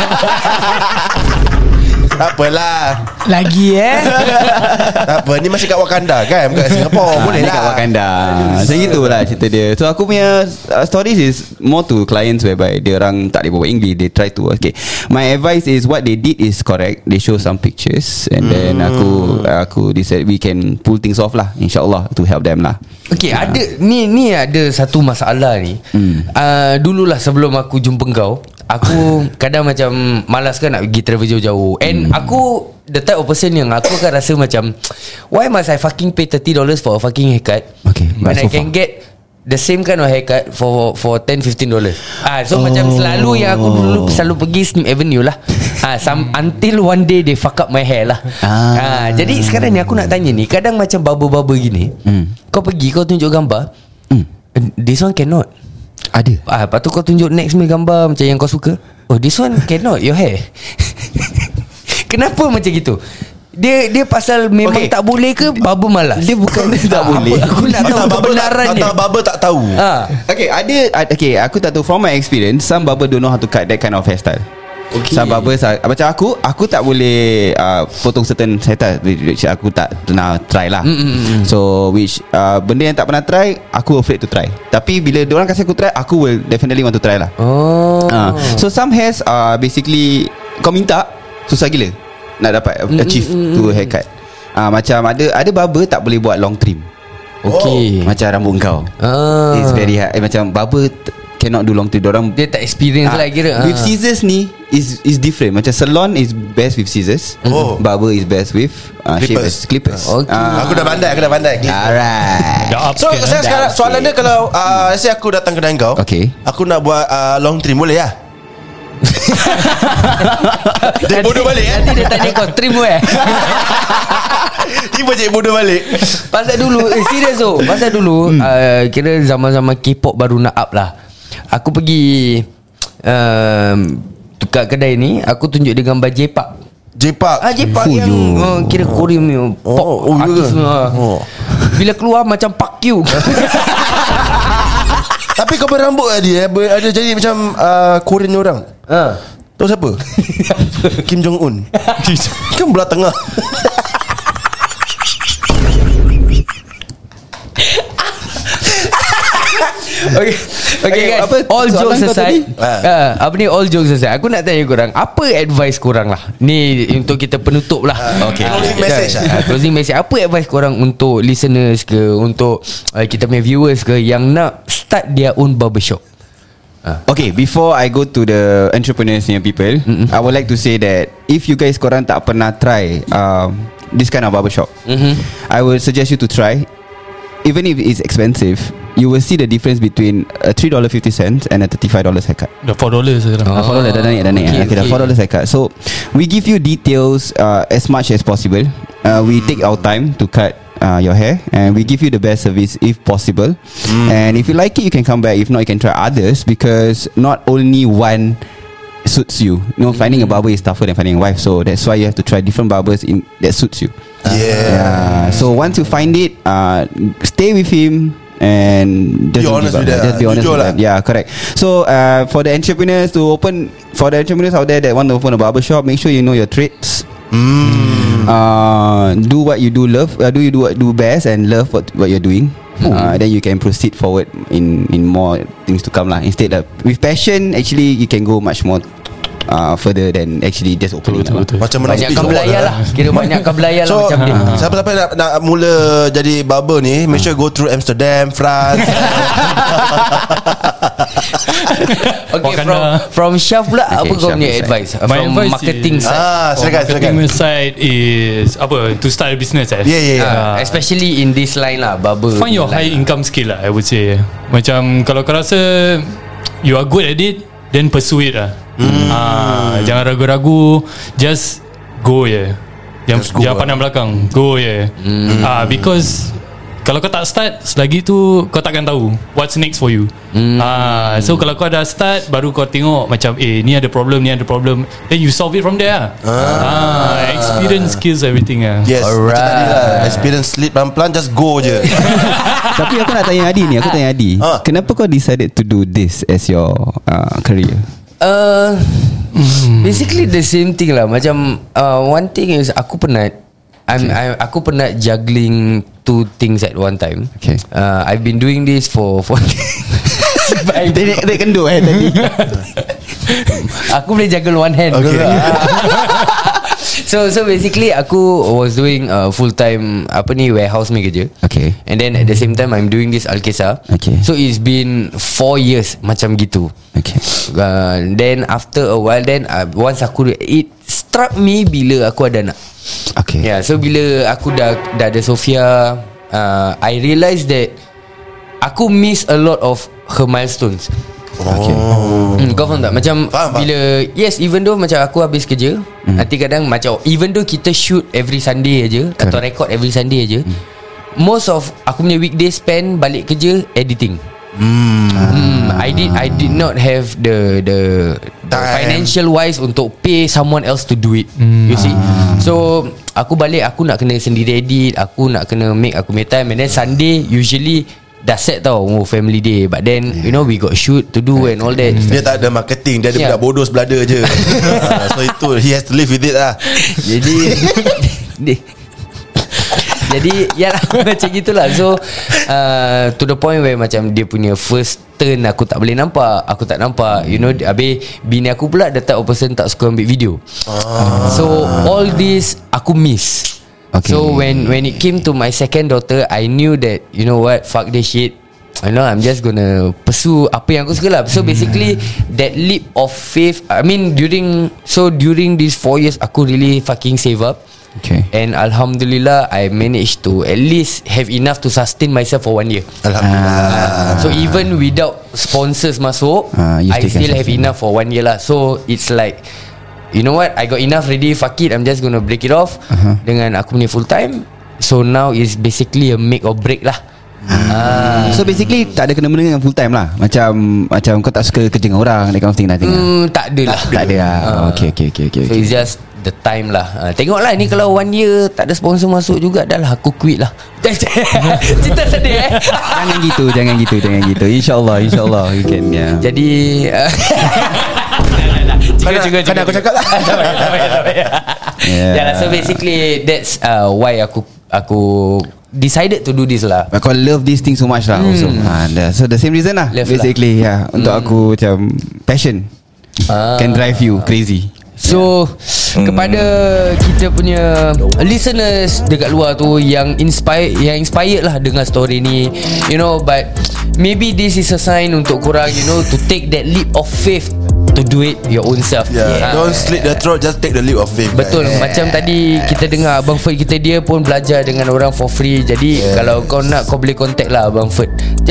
B: Tak apalah.
G: Lagi eh.
B: Tak apa, ni masih kat Wakanda kan, bukan kat Singapore.
D: Ah,
B: Boleh
D: ni kat
B: lah.
D: Wakanda. Macam itulah cerita dia. So aku punya uh, stories is more to clients whereby dia orang tak boleh berbual English. They try to okay. My advice is what they did is correct. They show some pictures and then aku aku decide we can pull things off lah, InsyaAllah, to help them lah.
C: Okay, ada ni ni ada satu masalah ni.
D: Hmm.
C: Uh, dululah sebelum aku jumpa kau, aku kadang macam malas kan nak pergi travel jauh-jauh. And aku the type of person yang aku akan rasa macam, why must I fucking pay thirty dollars for a fucking haircut
D: Okay,
C: when
D: but
C: I
D: so
C: can
D: far.
C: get the same kind of haircut for for ten fifteen dollars. Ah, so oh. macam selalu yang aku dulu selalu pergi Slim Avenue lah. Ah, some, until one day they fuck up my hair lah.
D: Ah.
C: Ah, jadi sekarang ni aku nak tanya ni, kadang macam barber-barber gini,
D: Hmm.
C: kau pergi kau tunjuk gambar,
D: Hmm.
C: this one cannot.
D: Ada.
C: Ah, lepas tu kau tunjuk next me gambar macam yang kau suka. Oh, this one cannot your hair. Kenapa macam gitu? Dia dia pasal memang
D: Okay.
C: tak boleh ke barber malas?
D: Dia bukan dia tak boleh.
C: Apa, aku nak tahu
B: Atau barber tak,
C: kebenarannya.
B: atau barber tak tahu.
C: Ah.
D: Okay, ada ad- okay, aku tak tahu from my experience, some barber don't know how to cut that kind of hairstyle. Okay. Some barbers uh, macam aku, aku tak boleh uh, potong certain hairstyle which aku tak pernah try lah. Mm-hmm. So which uh, benda yang tak pernah try, aku afraid to try. Tapi bila diorang kasi aku try, aku will definitely want to try lah.
C: Oh.
D: Uh, so some hairs are basically kau minta susah gila nak dapat achieve mm, mm, to haircut. Ah uh, macam ada ada barber tak boleh buat long trim.
C: Okay.
D: Macam rambut kau.
C: Ah.
D: It's very hard. Eh, macam barber t- cannot do long trim. Orang
C: Dia tak experience
D: Ah,
C: lah kira.
D: With
C: Ah.
D: scissors ni is is different. Macam salon is best with scissors.
B: Oh.
D: Barber is best with uh,
B: Clippers.
D: shavers, clippers.
C: Okay.
D: Ah.
B: Aku dah pandai, aku dah pandai.
D: Alright.
F: Dah up
B: So
F: sikit,
B: saya
F: eh.
B: sekarang soalan dia kalau uh, let's say aku datang kedai kau,
D: Okay.
B: aku nak buat uh, long trim boleh lah? Dia bodoh balik kan?
C: Nanti dia tanya kau trim eh.
B: Tiba je bodoh balik.
C: Pasal dulu eh, serius tu. Pasal dulu hmm. uh, kira zaman-zaman K-pop baru nak up lah. Aku pergi um, kat kedai ni, aku tunjuk dia gambar J-Park.
B: J-Park.
C: Ah J-Park yang uh, kira Korean ni pop
B: Oh, oh,
C: artis
B: ya.
C: uh.
B: Oh.
C: Bila keluar macam Park Q.
B: Tapi kau berambut lah dia, ber- ada jadi macam uh, Korean ni orang.
C: Ha.
B: Tahu siapa? Kim Jong Un. Kan belah tengah.
C: Okay, okay guys.
D: apa
C: All
D: soalan
C: jokes
D: kau
C: aside,
D: tadi?
C: uh, apa ni all jokes aside, aku nak tanya korang, apa advice korang lah ni untuk kita penutup lah.
B: Okay. Closing message lah.
C: uh, Closing message. Apa advice korang untuk listeners ke, untuk uh, kita punya viewers ke yang nak start their own barbershop?
D: Okay, before I go to the entrepreneurs and people, mm-hmm. I would like to say that if you guys korang tak pernah try um, this kind of barbershop, mm-hmm. I would suggest you to try. Even if it's expensive, you will see the difference between a three dollars fifty cents and a thirty-five dollars haircut.
F: Dah four dollars sekarang.
D: Ah, four dollars dah naik dah naik.
C: Okay,
D: Okay, dah
C: okay.
D: four dollars haircut. So we give you details uh, as much as possible. Uh, we take our time to cut uh, your hair, and we give you the best service if possible. Mm. And if you like it, you can come back. If not, you can try others, because not only one suits you. You know, finding a barber is tougher than finding a wife. So that's why you have to try different barbers in that suits you.
B: Yeah.
D: Yeah. So once you find it, uh, stay with him and just
B: Be
D: don't
B: honest
D: give up.
B: with that.
D: Just be honest
B: Jujur
D: with
B: lah.
D: them. Yeah, correct. So uh, for the entrepreneurs to open, for the entrepreneurs out there that want to open a barber shop, make sure you know your trades.
B: Mm.
D: Uh, do what you do love. Uh, do you do what do best and love what what you're doing. Uh, then you can proceed forward in in more things to come lah. Instead of with passion, actually you can go much more uh, further than actually just opening.
F: Betul, betul.
B: Macam menang
C: Banyakkan
B: speech
C: belayar
B: award
C: lah. Kira banyakkan belayar lah
B: So
C: macam dia.
B: siapa-siapa nak, nak mula jadi barber ni, make sure go through Amsterdam, France.
C: Okay, from,
F: Wakanda.
C: from Syaf pula,
D: Okay,
C: apa kau
D: Syaf
C: punya
D: side.
C: advice?
F: My
C: From
F: advice
C: marketing
F: is-
C: side.
B: Ah, silakan silakan.
F: Marketing side is apa, to start a business eh.
B: Yeah, yeah, yeah.
C: Uh, especially in this line lah, barber.
F: Find your
C: line.
F: high income skill lah, I would say. Macam kalau kau rasa you are good at it, then pursue it lah. Hmm. Ah, jangan ragu-ragu, just go je. Jangan,
B: Just go
F: jangan
B: lah.
F: pandang belakang, go je. Hmm. Ah, because kalau kau tak start, selagi tu kau takkan tahu what's next for you. Hmm. Ah, so kalau kau dah start, baru kau tengok macam eh ni ada problem, ni ada problem, then you solve it from there lah. Ah, experience, skills, everything lah.
B: Yes.
C: Alright.
B: Macam tadi lah, experience sleep pelan-pelan, just go je.
D: Tapi aku nak tanya Adi ni, aku tanya Adi,
B: Ah.
D: kenapa kau decided to do this as your uh, career?
C: Uh, basically the same thing lah. Macam uh, one thing is aku penat. I'm, I'm aku penat juggling two things at one time.
D: Okay.
C: Uh, I've been doing this for for.
D: Dia dia kenduk eh tadi.
C: Aku boleh juggle one hand.
B: Okay.
C: So so basically aku was doing uh, full time apa ni warehouse ni kerja.
D: Okay.
C: And then at the same time I'm doing this Alkisah.
D: Okay.
C: So it's been four years macam gitu.
D: Okay.
C: Uh, then after a while then uh, once aku it struck me bila aku ada anak.
D: Okay.
C: Yeah, so bila aku dah dah ada Sophia, uh, I realised that aku miss a lot of her milestones.
D: Okay.
C: Hmm, kau faham tak? Macam
B: Faham, faham.
C: bila yes, even though macam aku habis kerja, hmm. nanti kadang macam even though kita shoot every Sunday aja atau record every Sunday aja, hmm. most of aku punya weekday spend balik kerja editing. Hmm. hmm. I did I did not have the the, the financial wise untuk pay someone else to do it. Hmm. You see. So aku balik, aku nak kena sendiri edit, aku nak kena make aku punya time, and then Sunday usually dah set tau, oh family day, but then you know we got shoot to do and all that.
B: Dia tak ada marketing, dia ada
C: Yeah.
B: budak bodoh sebelah dia je. Ah, so itu he has to live with it lah.
C: Jadi di- Jadi ya lah, macam gitulah. So uh, to the point where macam dia punya first turn aku tak boleh nampak, aku tak nampak, you know. Habis bini aku pula the type of person tak suka ambil video. ah. So all this aku miss.
D: Okay.
C: So when when it came to my second daughter, I knew that, you know what, fuck this shit, I know I'm just gonna pursue apa yang aku suka lah. So basically that leap of faith, I mean during So during these four years, aku really fucking save up.
D: Okay.
C: And Alhamdulillah, I managed to at least have enough to sustain myself for one year.
B: Alhamdulillah.
C: Uh, so even without sponsors masuk,
D: Ah, you
C: I
D: still can
C: still have
D: sustain.
C: enough for one year lah. So it's like, you know what, I got enough already, fuck it, I'm just gonna break it off
D: Uh-huh.
C: dengan aku punya full time. So now is basically a make or break lah. Ah.
D: So basically tak ada kena-mena dengan full time lah. Macam Macam kau tak suka kerja dengan orang, that kind of thing, nothing lah.
C: Hmm, tak ada lah.
D: Tak ada lah.
C: Ah.
D: Okay okay okay, okay,
C: So
D: okay.
C: it's just the time lah. uh, Tengoklah ni kalau one year tak ada sponsor masuk juga, dah lah aku quit lah. Cerita sedih eh.
D: Jangan gitu, jangan gitu, jangan gitu. InsyaAllah, insyaAllah you can, yeah.
C: Jadi uh,
B: Kan kan aku cakap lah.
D: Yeah.
C: yeah, so basically that's uh, why aku Aku decided to do this lah.
D: But kau love this thing so much lah, also. Ha, dah. So the same reason lah,
C: Love
D: basically lah. Yeah, untuk aku macam passion
C: Ah.
D: can drive you crazy.
C: So kepada kita punya listeners dekat luar tu yang inspired, yang inspired lah dengan story ni, you know, but maybe this is a sign untuk korang, you know, to take that leap of faith to do it your own self.
B: Yeah,
C: Ah.
B: don't slit the throat, just take the leap of faith.
C: Betul,
B: guys.
C: macam tadi kita dengar Abang Ferd kita, dia pun belajar dengan orang for free. Jadi yeah, kalau kau nak, kau boleh contact lah Abang Ferd.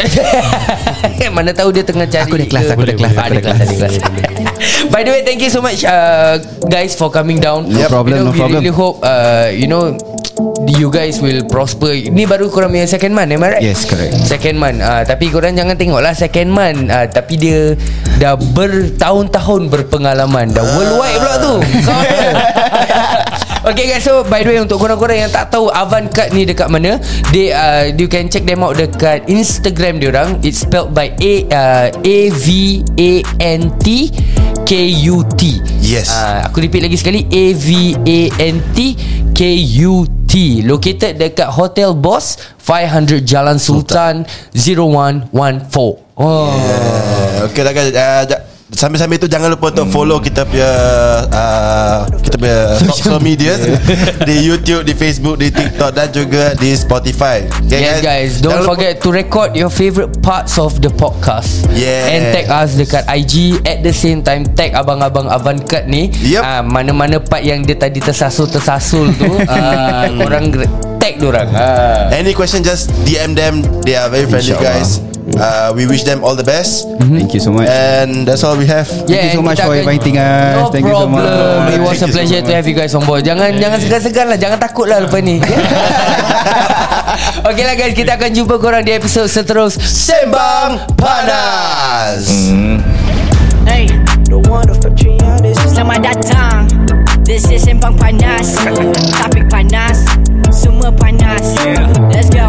C: Mana tahu dia tengah cari.
D: Aku dah kelas,
C: ke-
D: aku dah kelas,
C: Ah,
D: aku
C: dia
D: dah
C: kelas, dia kelas. By the way, thank you so much uh, guys for coming down.
D: No problem,
C: you know,
D: no
C: we
D: problem.
C: really hope uh, you know, you guys will prosper. Ni baru korang punya second month, am I right?
D: Yes, correct.
C: Second month, uh, tapi korang jangan tengok lah second month, uh, tapi dia dah bertahun-tahun berpengalaman, dah worldwide pula tu. Kau tahu. Okay guys, so by the way, untuk korang-korang yang tak tahu Avantcut ni dekat mana, they uh, you can check them out dekat Instagram diorang. It's spelled by A uh, A V A N T K U T.
B: Yes.
C: uh, Aku repeat lagi sekali, A V A N T K U T. Located dekat Hotel Boss, five hundred Jalan Sultan, zero one one four. Oh
B: Yeah. Okay lah guys, uh, ja- sambil-sambil tu jangan lupa untuk follow kita punya uh, kita punya social media di YouTube, di Facebook, di TikTok dan juga di Spotify. Okay,
C: Yes guys, don't
B: Jangan lupa-
C: forget to record your favorite parts of the podcast.
B: Yes.
C: And tag us dekat I G. At the same time, tag abang-abang Avantcut ni.
B: Yep.
C: Ah, mana-mana part yang dia tadi tersasul-tersasul tu, ah, korang tag diorang. Ah.
B: Any question, just D M them. They are very friendly
D: InsyaAllah.
B: guys. Uh, we wish them all the best.
D: Thank you so much.
B: And that's all we have.
D: Thank you so
C: and
D: much
C: kita
D: for
C: akan-
D: inviting us.
C: No
D: Thank you so
C: problem.
D: much.
C: It was
B: Thank
C: a
B: you so
C: pleasure to
B: much.
C: have you guys on board. Jangan jangan segan-segan lah, jangan takut lah lepas ni. Okay lah guys, kita akan jumpa korang di episod seterus
B: Sembang Panas.
A: Hey, selamat datang. This is Sembang Panas. Topik panas, semua panas. Let's go.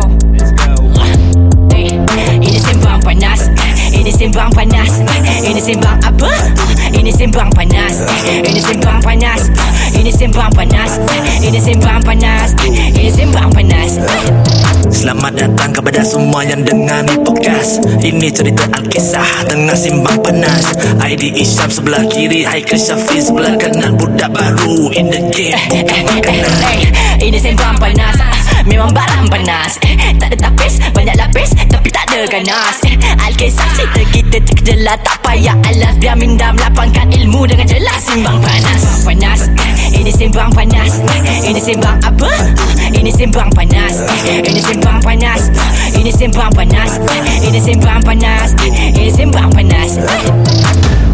A: Hey, ini Sembang Panas. Ini Sembang Panas. Ini Sembang apa? Ini Sembang Panas. Ini Sembang Panas. Ini Sembang Panas. Ini Sembang Panas. Ini Sembang Panas.
E: Selamat datang kepada semua yang dengar ni podcast. Ini cerita Alkisah tengah simbang panas. I D Isyam sebelah kiri, Haikal Syafiq sebelah kanan. Budak baru in the game, bukan makanan.
A: Hey, ini Sembang Panas. Memang barang panas. Tak ada tapis, banyak lapis, tapi tak ada ganas. Alkisah cerita kita terkejelah, tak payah alas. Biar minda melapangkan ilmu dengan jelas. Sembang Panas. Sembang Panas. Ini Sembang Panas. Ini Sembang apa? Ini Sembang Panas. Ini Sembang Panas. Ini Sembang Panas. Ini Sembang Panas. Ini Sembang Panas.